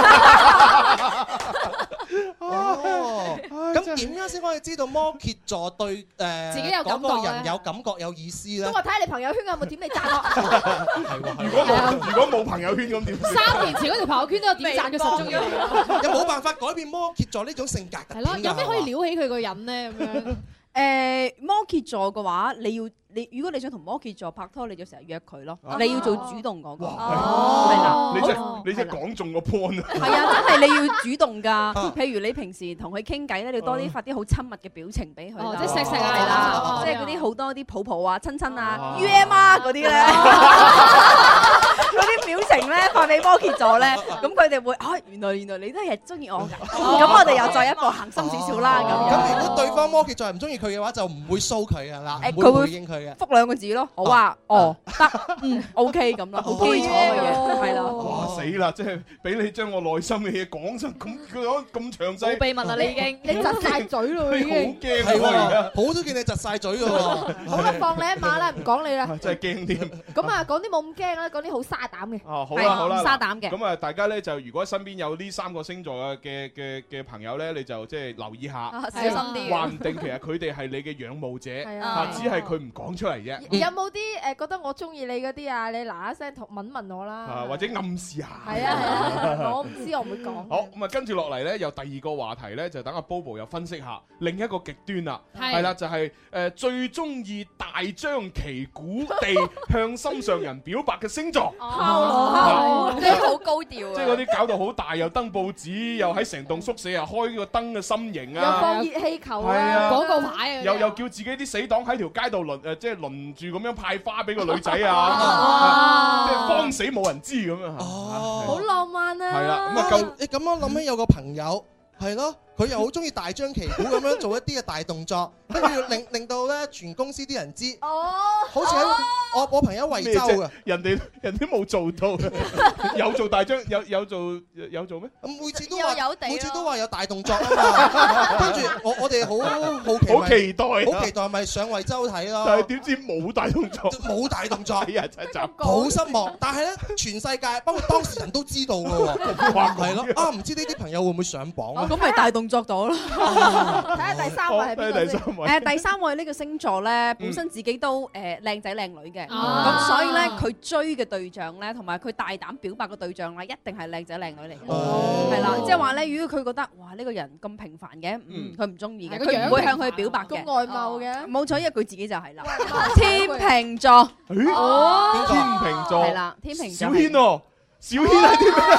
咁點樣先可以知道摩羯座對自己有感覺嗰個人有感覺有意思咧？ 咁我睇下你朋友圈有冇點你讚我。 如果冇朋友圈咁點 ？3年前嗰條朋友圈都有點讚佢實中意。 有冇辦法改變摩羯座呢種性格㗎？ 係咯，有咩可以撩起佢個人咧？咁樣摩羯座嘅話，如果你想同摩羯座拍拖，你就成日約佢咯，你要做主動嗰個。係啦， 你真係講中個 point 啊！ 係啊，真係你要主動㗎。譬如你平時同佢傾偈咧，你要多啲發啲好親密嘅表情俾佢啦。 即係錫錫啊， 係啦，即係嗰啲好多啲抱抱啊、親親啊、UM 啊嗰啲咧，嗰啲表情咧發俾摩羯座咧，咁佢哋會原來你都係中意我㗎。咁我哋又再一步行深少少啦。 咁如果對方摩羯座係唔中意佢嘅話，就唔會騷佢㗎啦，唔會回應佢嘅。 覆兩個字咯，好啊，得，OK 咁咯，好基礎嘅嘢，係啦。 哇死啦！即係俾你將我內心嘅嘢講成咁詳細， 冇秘密啦你已經， 你窒晒嘴咯已經。 好驚喎而家， 好多見你窒晒嘴㗎喎。 好啦，放你一馬啦，唔講你啦。 真係驚添。 咁啊，講啲冇咁驚啦，講啲好沙膽嘅。 哦，好啦好啦， 沙膽嘅。 咁啊，大家咧就如果身邊有呢3個星座嘅朋友咧，你就即係留意下， 小心啲。 話唔定其實佢哋係你嘅仰慕者，只係佢唔講出嚟啫。 有冇啲覺得我中意你嗰啲啊？你嗱一聲問問我啦。 或者暗示下。 係啊，我唔知，我唔會講。 好，咁啊，跟住落嚟咧，有第2個話題咧，就等阿 Bobo 又分析下另一個極端啦。係啦，就係最中意大張旗鼓地向心上人表白嘅星座。 即係好高調。 即係嗰啲搞到好大，又登報紙，又喺成棟宿舍啊開個燈嘅心形啊， 又放熱氣球啊， 廣告牌啊， 又叫自己啲死黨喺條街度即係輪住咁樣派花俾個女仔啊，即係慌死冇人知咁樣。 好浪漫啊！ 係啦，咁啊你咁樣諗起有個朋友係咯，佢又好中意大張旗鼓咁樣做一啲嘅大動作，跟住令到咧全公司啲人知。好似喺我朋友惠州嘅， 人哋冇做到，有做大張有做咩？ 每次都話有大動作啊嘛，跟住我哋好期待咪上惠州睇咯。 但係點知冇大動作， 冇大動作， 真係好失望。但係咧，全世界包括當事人都知道㗎喎，係咯。唔知呢啲朋友會唔會上榜啊？ 咁咪大動作到咯。 睇下第3位係邊個先？ 第3位呢個星座咧，本身自己都靚仔靚女嘅，咁所以咧佢追嘅對象咧，同埋佢大膽表白嘅對象咧，一定係靚仔靚女嚟嘅，係啦，即係話咧，如果佢覺得哇呢個人咁平凡嘅，佢唔中意嘅，佢唔會向佢表白嘅， 咁外貌嘅， 冇錯，因為佢自己就係啦，天秤座， 天秤座係啦，天秤座， 小軒喎。小軒係啲咩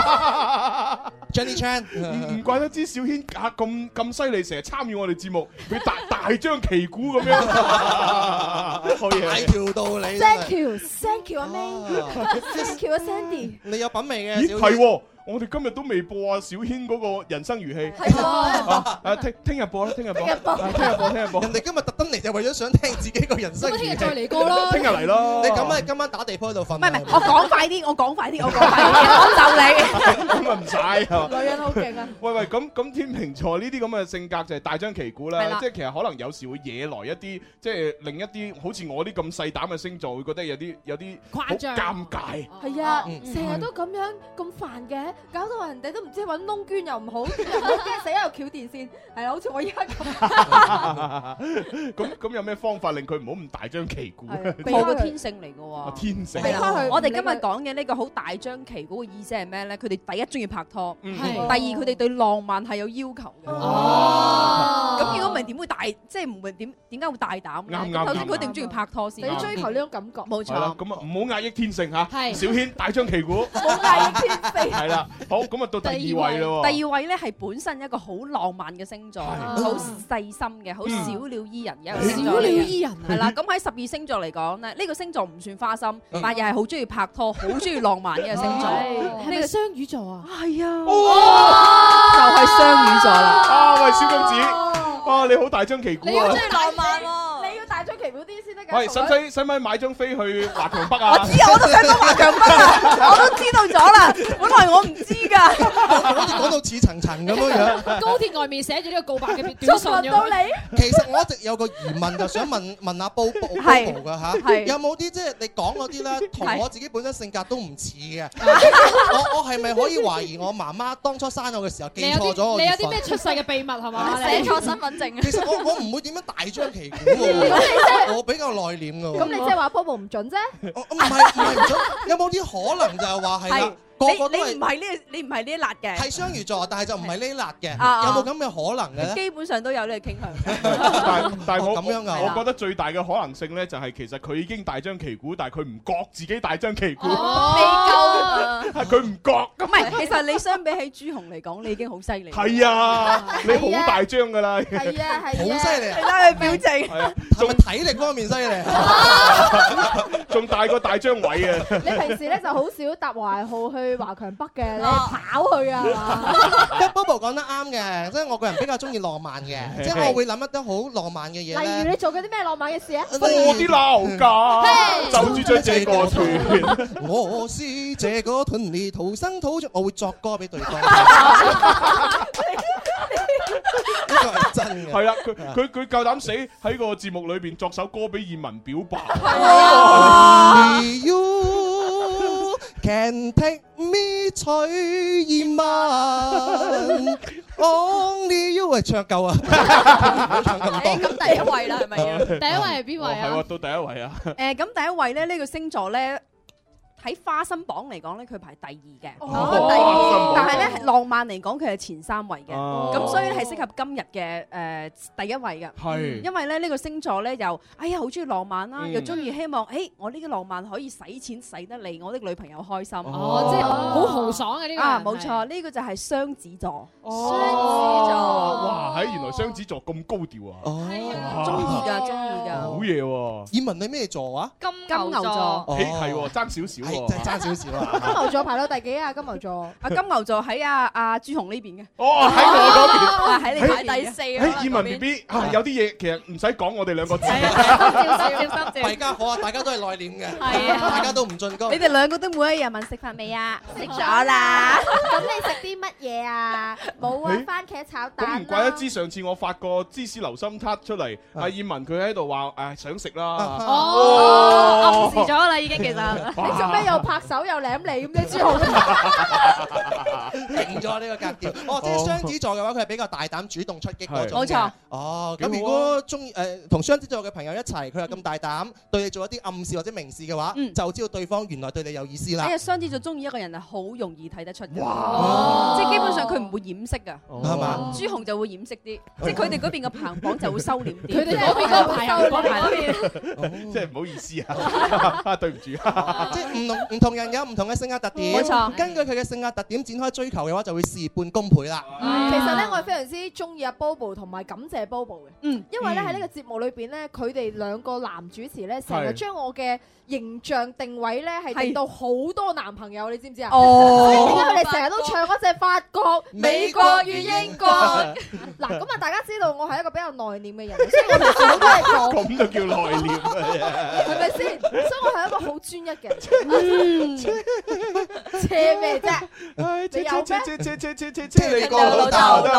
？Jenny Chan， 唔怪得知小軒咁犀利，成日參與我哋節目，佢大張旗鼓咁樣，好嘢， 大條道理。 Thank you 阿 May，Thank you 阿 Sandy。 你有品味嘅。 咦係喎，我哋今日都未播啊小軒嗰個人生如戲。 係喎。 聽日播啦，聽日播。 人哋今日特登嚟就為咗想聽自己個人生如戲。 聽日再嚟過咯。 聽日嚟咯。 你咁今晚打地鋪喺度瞓。 唔係，我講快啲，我就你。 咁啊唔使。 女人好勁啊！ 喂，咁天秤座呢啲咁嘅性格就係大張旗鼓啦，即係其實可能有時會惹來一啲即係另一啲好似我啲咁細膽嘅星座會覺得有啲誇張、 尷尬。 係啊，成日都咁樣咁煩嘅，搞到人哋都唔知揾窿捐又唔好，又驚死又翹電線，係啦，好似我依家咁。 咁有咩方法令佢唔好咁大張旗鼓？ 我個天性嚟嘅喎。 天性。 我哋今日講嘅呢個好大張旗鼓嘅意思係咩咧？佢哋第一中意拍拖，第二佢哋對浪漫係有要求嘅。咁如果唔係點會大？即係唔係點解會大膽？ 啱。 首先佢一定中意拍拖先。 你要追求呢種感覺。 冇錯。 咁啊，唔好壓抑天性嚇。小軒大張旗鼓。 冇壓抑天性。 係啦，好咁啊，到第2位咯。 第2位咧係本身一個好浪漫嘅星座，好細心嘅，好小鳥依人嘅一個星座。 小鳥依人係啦，咁喺12星座嚟講咧，呢個星座唔算花心，但又係好中意拍拖，好中意浪漫嘅一個星座。 係咪雙魚座啊？ 係啊，就係雙魚座啦。 喂，小公子，哇，你好大張旗鼓啊！ 你要中意浪漫喎，你要大張旗奇妙啲先得㗎。 喂，使唔使買張飛去華強北啊？ 我知啊，我都想講華強北啊，我都知道咗啦。本來我唔知㗎， 好似講到似層層咁樣樣。 高鐵外面寫住呢個告白嘅短信咁。 到你。 其實我一直有個疑問，就想問阿 Bobo 㗎嚇，有冇啲即係你講嗰啲咧，同我自己本身性格都唔似嘅？我係咪可以懷疑我媽媽當初生我嘅時候記錯咗我？ 你有啲咩出世嘅秘密係嘛？ 寫錯身份證。 其實我唔會點樣大張旗鼓喎，我比較內斂㗎喎。 咁你即係話 Bobo 唔準啫？ 唔係唔準，有冇啲可能就係話係啦？個個都係你唔係呢一辣嘅， 係雙魚座，但係就唔係呢辣嘅， 啊有冇咁嘅可能嘅咧？ 基本上都有呢個傾向。 但係我咁樣㗎， 我覺得最大嘅可能性咧，就係其實佢已經大張旗鼓，但係佢唔覺自己大張旗鼓， 未夠， 係佢唔覺。 唔係，其實你相比起朱紅嚟講，你已經好犀利。 係啊，你好大張㗎啦。 係啊， 好犀利啊！ 你睇佢表情， 係啊， 係咪體力方面犀利？ 仲大過大張偉啊！ 你平時咧就好少搭華號去華強北嘅，你跑去啊嘛 ？Bobo 講得啱嘅，即係我個人比較中意浪漫嘅，即係我會諗一啲好浪漫嘅嘢。 例如你做過啲咩浪漫嘅事啊？ 我啲鬧架，就住將這個團， 我是這個團裡土生土長，我會作歌俾對方。呢個係真嘅。 係啦，佢夠膽死喺個節目裏邊作首歌俾燕文表白。 You can take me 取燕文。Only you 係唱夠啊！唱咁多。 咁第一位啦，係咪啊？ 第一位係邊位啊？ 係喎，到第一位啊！ 咁第一位咧，呢個星座咧。喺花心榜嚟講咧，佢排第二嘅， 第二。但係咧浪漫嚟講，佢係前3位嘅。咁所以係適合今日嘅第一位嘅。 係。 因為咧呢個星座咧又哎呀好中意浪漫啦，又中意希望我呢個浪漫可以使錢使得嚟我的女朋友開心。 哦，即係好豪爽嘅呢個。 啊，冇錯，呢個就係雙子座。 雙子座。 哇！原來雙子座咁高調啊！ 中意㗎，中意㗎。 好嘢喎！ 燕文你咩座啊？ 金牛座。 係喎，爭少少。 真係爭少少啊！ 金牛座排到第幾啊？金牛座金牛座喺阿朱紅呢邊嘅。 哦，喺我嗰邊。 喺你排第4。 燕文 BB 有啲嘢其實唔使講，我哋兩個知。 心照。 大家好啊！大家都係內斂嘅， 係啊， 大家都唔進攻。 你哋兩個都每一日問食飯未啊？食咗啦。 咁你食啲乜嘢啊？冇啊，番茄炒蛋。 咁唔怪得知上次我發個芝士流心撻出嚟，阿燕文佢喺度話想食啦。 暗示咗啦已經其實。 你做咩又拍手又舐你咁嘅朱浩？ 定咗呢個格調。哦，即係雙子座嘅話，佢係比較大膽主動出擊嗰種。 冇錯。 哦，咁如果中意同雙子座嘅朋友一齊，佢又咁大膽對你做一啲暗示或者明示嘅話，就知道對方原來對你有意思啦。 雙子座中意一個人係好容易睇得出嘅。哇！即係基本上佢唔會掩飾㗎， 係嘛？ 朱紅就會掩飾啲，即係佢哋嗰邊嘅排行榜就會收斂啲。 佢哋嗰邊嘅排行榜嗰邊， 即係唔好意思啊，對唔住。 即係唔同人有唔同嘅性格特點， 冇錯。 根據佢嘅性格特點展開追求嘅話，就會事半功倍啦。 其實咧，我係非常之中意阿 Bobo 同埋感謝 Bobo 嘅。因為咧喺呢個節目裏邊咧，佢哋兩個男主持咧，成日將我嘅形象定位咧係定到好多男朋友，你知唔知啊？所以點解佢哋成日都唱嗰隻法國、美國與英國？嗱，咁啊，大家知道我係一個比較內斂嘅人，所以我平時好多嘢講。 咁就叫內斂啊！ 係咪先？所以我係一個好專一嘅人。車咩啫？你有咩？ 車你個老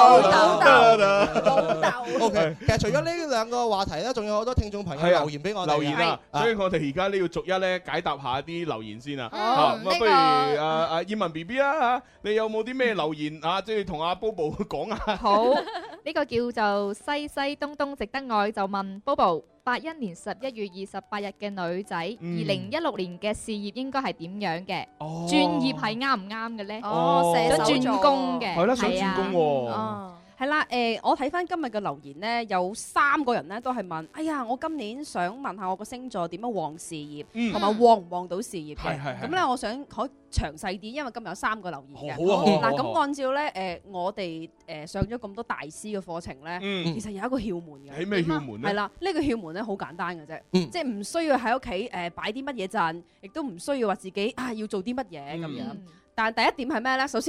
豆。 OK，其實除咗呢兩個話題咧，仲有好多聽眾朋友留言俾我哋。 留言啊！所以我哋而家呢要逐一咧解答下啲留言先啊。咁啊，不如阿燕文 BB 啦，你有冇啲咩留言啊？即係同阿 Bobo 講啊。 好，呢個叫做西西東東值得愛，就問 Bobo，81年11月28日嘅女仔，2016年嘅事業應該係點樣嘅？轉業係啱唔啱嘅咧？想轉工嘅， 係啦，想轉工喎。 係啦，我睇翻今日嘅留言咧，有3個人咧都係問，哎呀，我今年想問下我個星座點樣旺事業，同埋旺唔旺到事業嘅。咁咧，我想可以詳細啲，因為今日有3個留言嘅。 好啊。 嗱，咁按照咧，我哋上咗咁多大師嘅課程咧，其實有一個竅門嘅。 係咩竅門咧？ 係啦，呢個竅門咧好簡單嘅啫，即係唔需要喺屋企擺啲乜嘢陣，亦都唔需要話自己要做啲乜嘢咁樣。但係第一點係咩咧？首先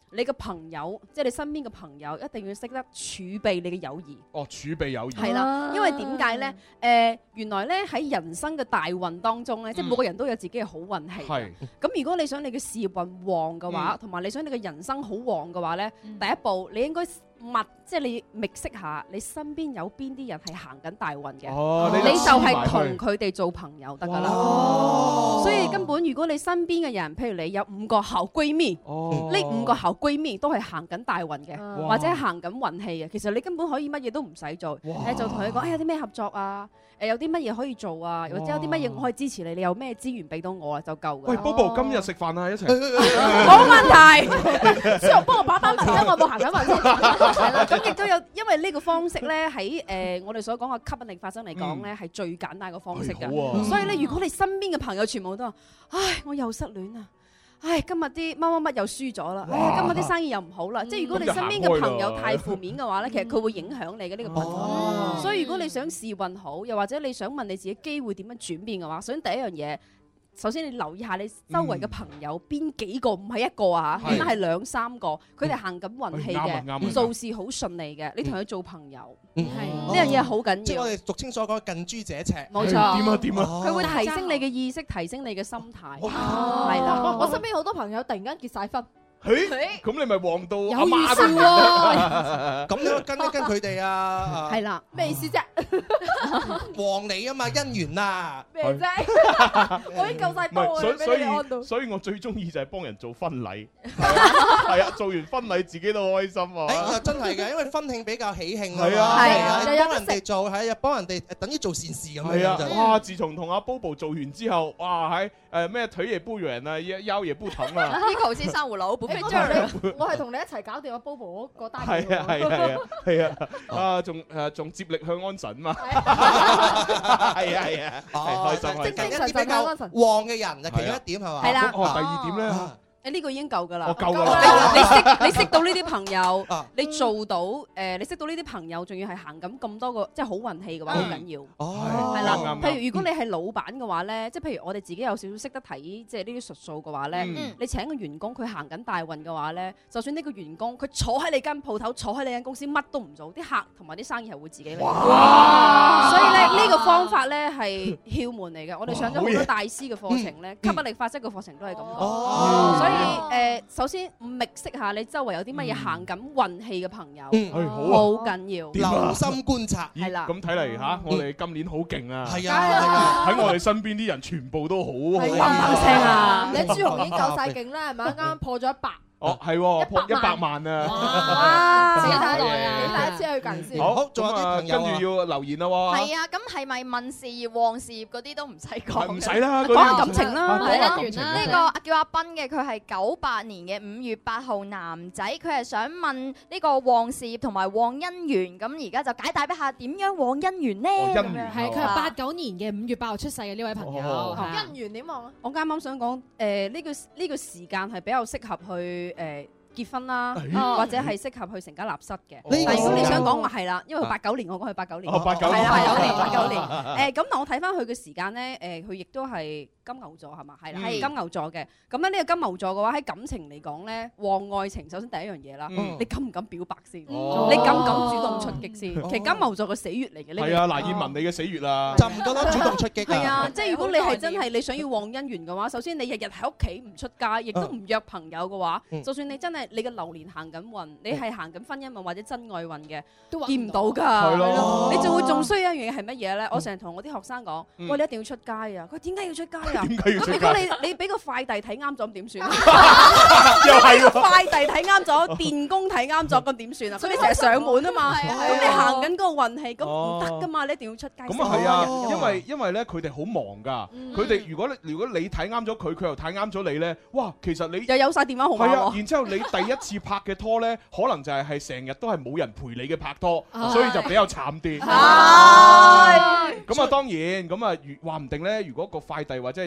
你嘅朋友，即係你身邊嘅朋友，一定要識得儲備你嘅友誼。 哦，儲備友誼。 係啦，因為點解咧？原來咧喺人生嘅大運當中咧，即係每個人都有自己嘅好運氣。 係。 咁如果你想你嘅事業運旺嘅話，同埋你想你嘅人生好旺嘅話咧，第一步你應該即係你覓識下你身邊有邊啲人係行緊大運嘅，你就係同佢哋做朋友得㗎啦。所以根本如果你身邊嘅人，譬如你有5個好閨蜜，呢5個好閨蜜都係行緊大運嘅，或者行緊運氣嘅，其實你根本可以乜嘢都唔使做，就同佢講，有啲咩合作啊？有啲乜嘢可以做啊？或者有啲乜嘢我可以支持你？你有咩資源俾到我啊？就夠㗎。 喂，Bobo，今日食飯啊，一齊。 冇問題。小龍幫我把問，因為我冇行緊運先。係啦，咁亦都有，因為呢個方式咧喺我哋所講嘅吸引力法則嚟講咧，係最簡單嘅方式㗎。所以咧，如果你身邊嘅朋友全部都話，唉，我又失戀啊！唉，今日啲乜乜乜又輸咗啦！唉，今日啲生意又唔好啦。即係如果你身邊嘅朋友太負面嘅話咧，其實佢會影響你嘅呢個朋友。所以如果你想事業運好，又或者你想問你自己機會點樣轉變嘅話，首先第一樣嘢。首先你留意下你周圍嘅朋友邊幾個，唔係一個啊嚇，起碼係2、3個，佢哋行緊運氣嘅，做事好順利嘅，你同佢做朋友，係呢樣嘢好緊要。 即係我哋俗稱所講近朱者赤。 冇錯。 點啊？ 佢會提升你嘅意識，提升你嘅心態。係啦， 我身邊好多朋友突然間結晒婚。 咁你咪旺到有阿媽預兆喎。 咁你跟一跟佢哋啊。 係啦， 咩意思啫？ 旺你啊嘛，姻緣啊。 咩啫？我已經夠晒波啊！ 所以我最中意就係幫人做婚禮。係啊，做完婚禮自己都開心啊。 真係嘅，因為婚慶比較喜慶啊。 係啊， 幫人哋做係啊，幫人哋等於做善事咁樣。 係啊，哇！自從同阿 Bobo 做完之後，哇喺咩腿也不軟啊，腰也不疼啊。 呢個好似珊瑚佬， 我係同你一齊搞掂阿 Bobo 嗰單嘢。 係啊，仲接力向安神嘛。係啊，開心。 即係一啲比較旺嘅人就其中一點係嘛？ 係啦。 第二點咧。 呢個已經夠㗎啦， 我夠㗎啦。 你識到呢啲朋友，你做到你識到呢啲朋友，仲要係行咁多個即係好運氣嘅話，好緊要。係啦，譬如如果你係老闆嘅話咧，即係譬如我哋自己有少少識得睇即係呢啲術數嘅話咧，你請個員工佢行緊大運嘅話咧，就算呢個員工佢坐喺你間鋪頭，坐喺你間公司乜都唔做，啲客同埋啲生意係會自己嚟。所以咧呢個方法咧係竅門嚟嘅。我哋上咗好多大師嘅課程咧，吸引力法則嘅課程都係咁講。所以首先覓識下你周圍有啲乜嘢行緊運氣嘅朋友，好緊要， 留心觀察。 係啦， 咁睇嚟嚇，我哋今年好勁啊！ 係啊， 喺我哋身邊啲人全部都好嘭嘭聲啊！你朱紅已經夠晒勁啦，係咪啱啱破咗100？ 哦，係破100萬啊！ 哇！幾大耐啊？幾大一次去近先？ 好，仲有啲朋友跟住要留言啦喎。 係啊，咁係咪問事業旺事業嗰啲都唔使講？ 唔使啦， 講下感情啦， 係啦。呢個叫阿斌嘅，佢係98年嘅5月8號男仔，佢係想問呢個旺事業同埋旺姻緣，咁而家就解答一下點樣旺姻緣呢？ 係佢係89年嘅5月8號出世嘅呢位朋友。 姻緣點旺啊？ 我啱啱想講呢個時間係比較適合去結婚啦，或者係適合去成家立室嘅。但如果你想講話係啦，因為佢89年，我講佢89年，係啦89年。咁但我睇翻佢嘅時間咧，佢亦都係金牛座係嘛？係啦，係金牛座嘅。咁咧呢個金牛座嘅話喺感情嚟講咧，旺愛情首先第一樣嘢啦，你敢唔敢表白先？你敢唔敢主動出擊先？其實金牛座嘅死穴嚟嘅呢個。 係啊，嗱，燕文你嘅死穴啦， 就唔覺得主動出擊。 係啊，即係如果你係真係你想要旺姻緣嘅話，首先你日日喺屋企唔出街，亦都唔約朋友嘅話，就算你真係你嘅流年行緊運，你係行緊婚姻運或者真愛運嘅，都見唔到㗎。你就會仲衰一樣嘢係乜嘢咧？我成日同我啲學生講，喂，你一定要出街啊！佢點解要出街啊？咁如果你俾個快遞睇啱咗，咁點算啊？又係快遞睇啱咗，電工睇啱咗，咁點算啊？所以你成日上門啊嘛，咁你行緊嗰個運氣，咁唔得㗎嘛，你一定要出街。 咁啊係啊，因為咧佢哋好忙㗎，佢哋如果你睇啱咗佢，佢又睇啱咗你咧，哇！其實你又有曬電話號碼喎。 然之後你第一次拍嘅拖咧，可能就係成日都係冇人陪你嘅拍拖，所以就比較慘啲。咁啊當然，咁啊話唔定咧，如果個快遞或者係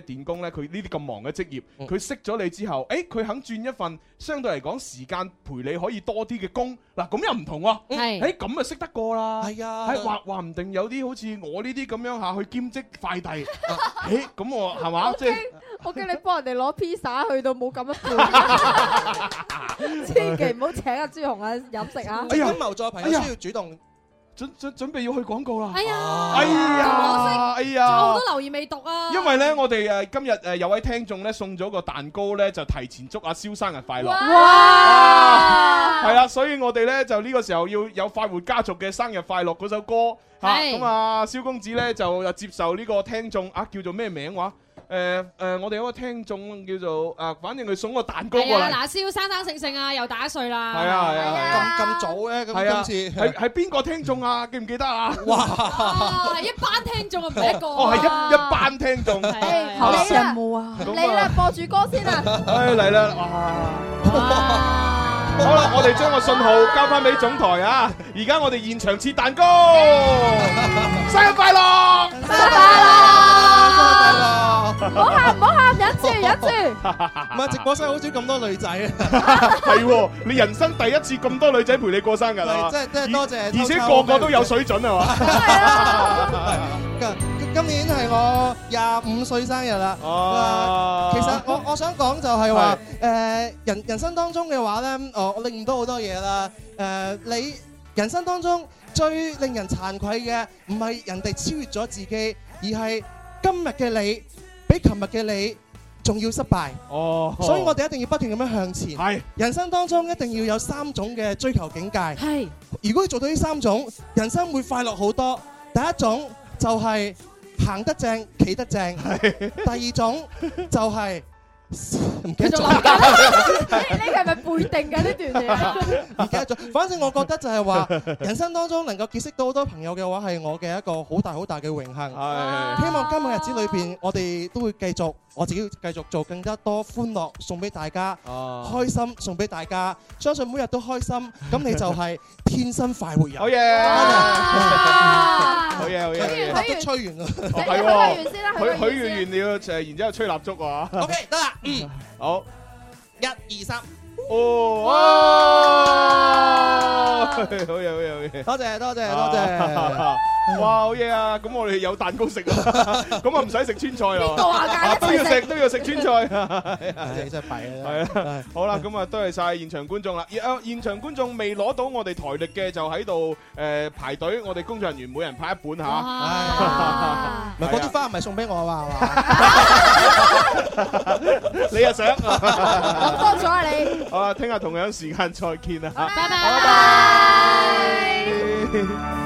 係電工咧，佢呢啲咁忙嘅職業，佢識咗你之後，誒佢肯轉一份相對嚟講時間陪你可以多啲嘅工，嗱咁又唔同喎。誒咁啊識得過啦。係啊，話唔定有啲好似我呢啲咁樣嚇去兼職快遞，誒咁我係嘛？即係我叫你幫人哋攞披薩，去到冇咁樣半，千祈唔好請阿朱紅啊飲食啊！ 陰謀在朋友需要主動。 準備要去廣告啦！ 哎呀， 哎呀， 仲有好多留言未讀啊！ 因為咧，我哋今日有位聽眾咧送咗個蛋糕咧，就提前祝阿蕭生日快樂。哇！係啦，所以我哋咧就呢個時候要有快活家族嘅生日快樂嗰首歌嚇。咁啊，蕭公子咧就接受呢個聽眾啊，叫做咩名話？我哋有個聽眾叫做反正佢送個蛋糕過嚟。 嗱，蕭生性性啊，又打1歲啦。 係啊， 咁早咧，咁今次係邊個聽眾啊？記唔記得啊？ 哇！係一班聽眾啊，唔係一個。 哦，係一班聽眾。 好羨慕啊！嚟啦，播住歌先啦。 嚟啦！好啦，我哋將個信號交翻俾總台啊！而家我哋現場切蛋糕，生日快樂！ 生日快樂！唔好喊，忍住。 唔係直播室好少咁多女仔啊！係喎，你人生第一次咁多女仔陪你過生日啊！ 真係多謝， 而且個個都有水準係嘛？ 今年係我25歲生日啦。其實我想講就係話，人生當中嘅話咧，我領悟到好多嘢啦。你人生當中最令人慚愧嘅，唔係人哋超越咗自己，而係今日嘅你比琴日嘅你仲要失敗。所以我哋一定要不斷咁樣向前。係人生當中一定要有3種嘅追求境界。係如果你做到呢3種，人生會快樂好多。第一種就係行得正，企得正。第二種就係唔記得咗。呢個係咪背定㗎呢段嘢？ 唔記得咗。反正我覺得就係話，人生當中能夠結識到好多朋友嘅話，係我嘅一個好大好大嘅榮幸。希望今日日子裏邊，我哋都會繼續，我自己會繼續做更加多歡樂送俾大家，開心送俾大家。相信每日都開心，咁你就係天生快活人。好嘢！好嘢！都吹完啦， 係喎。許完了就然之後吹蠟燭喎。 OK， 得啦。 好 ，1、2、3。 哦，好嘢！多謝。哇，好嘢啊！咁我哋有蛋糕食啦，咁啊唔使食川菜啦。邊個話㗎？都要食川菜。 你真係弊啊！ 係啊，好啦，咁啊多謝晒現場觀眾啦。現場觀眾未攞到我哋台歷嘅就喺度排隊，我哋工作人員每人派一本嚇。 唔係嗰啲花唔係送俾我啊嘛？你又想？ 諗多咗啊你！ 好啦，聽日同樣時間再見啦。 拜拜。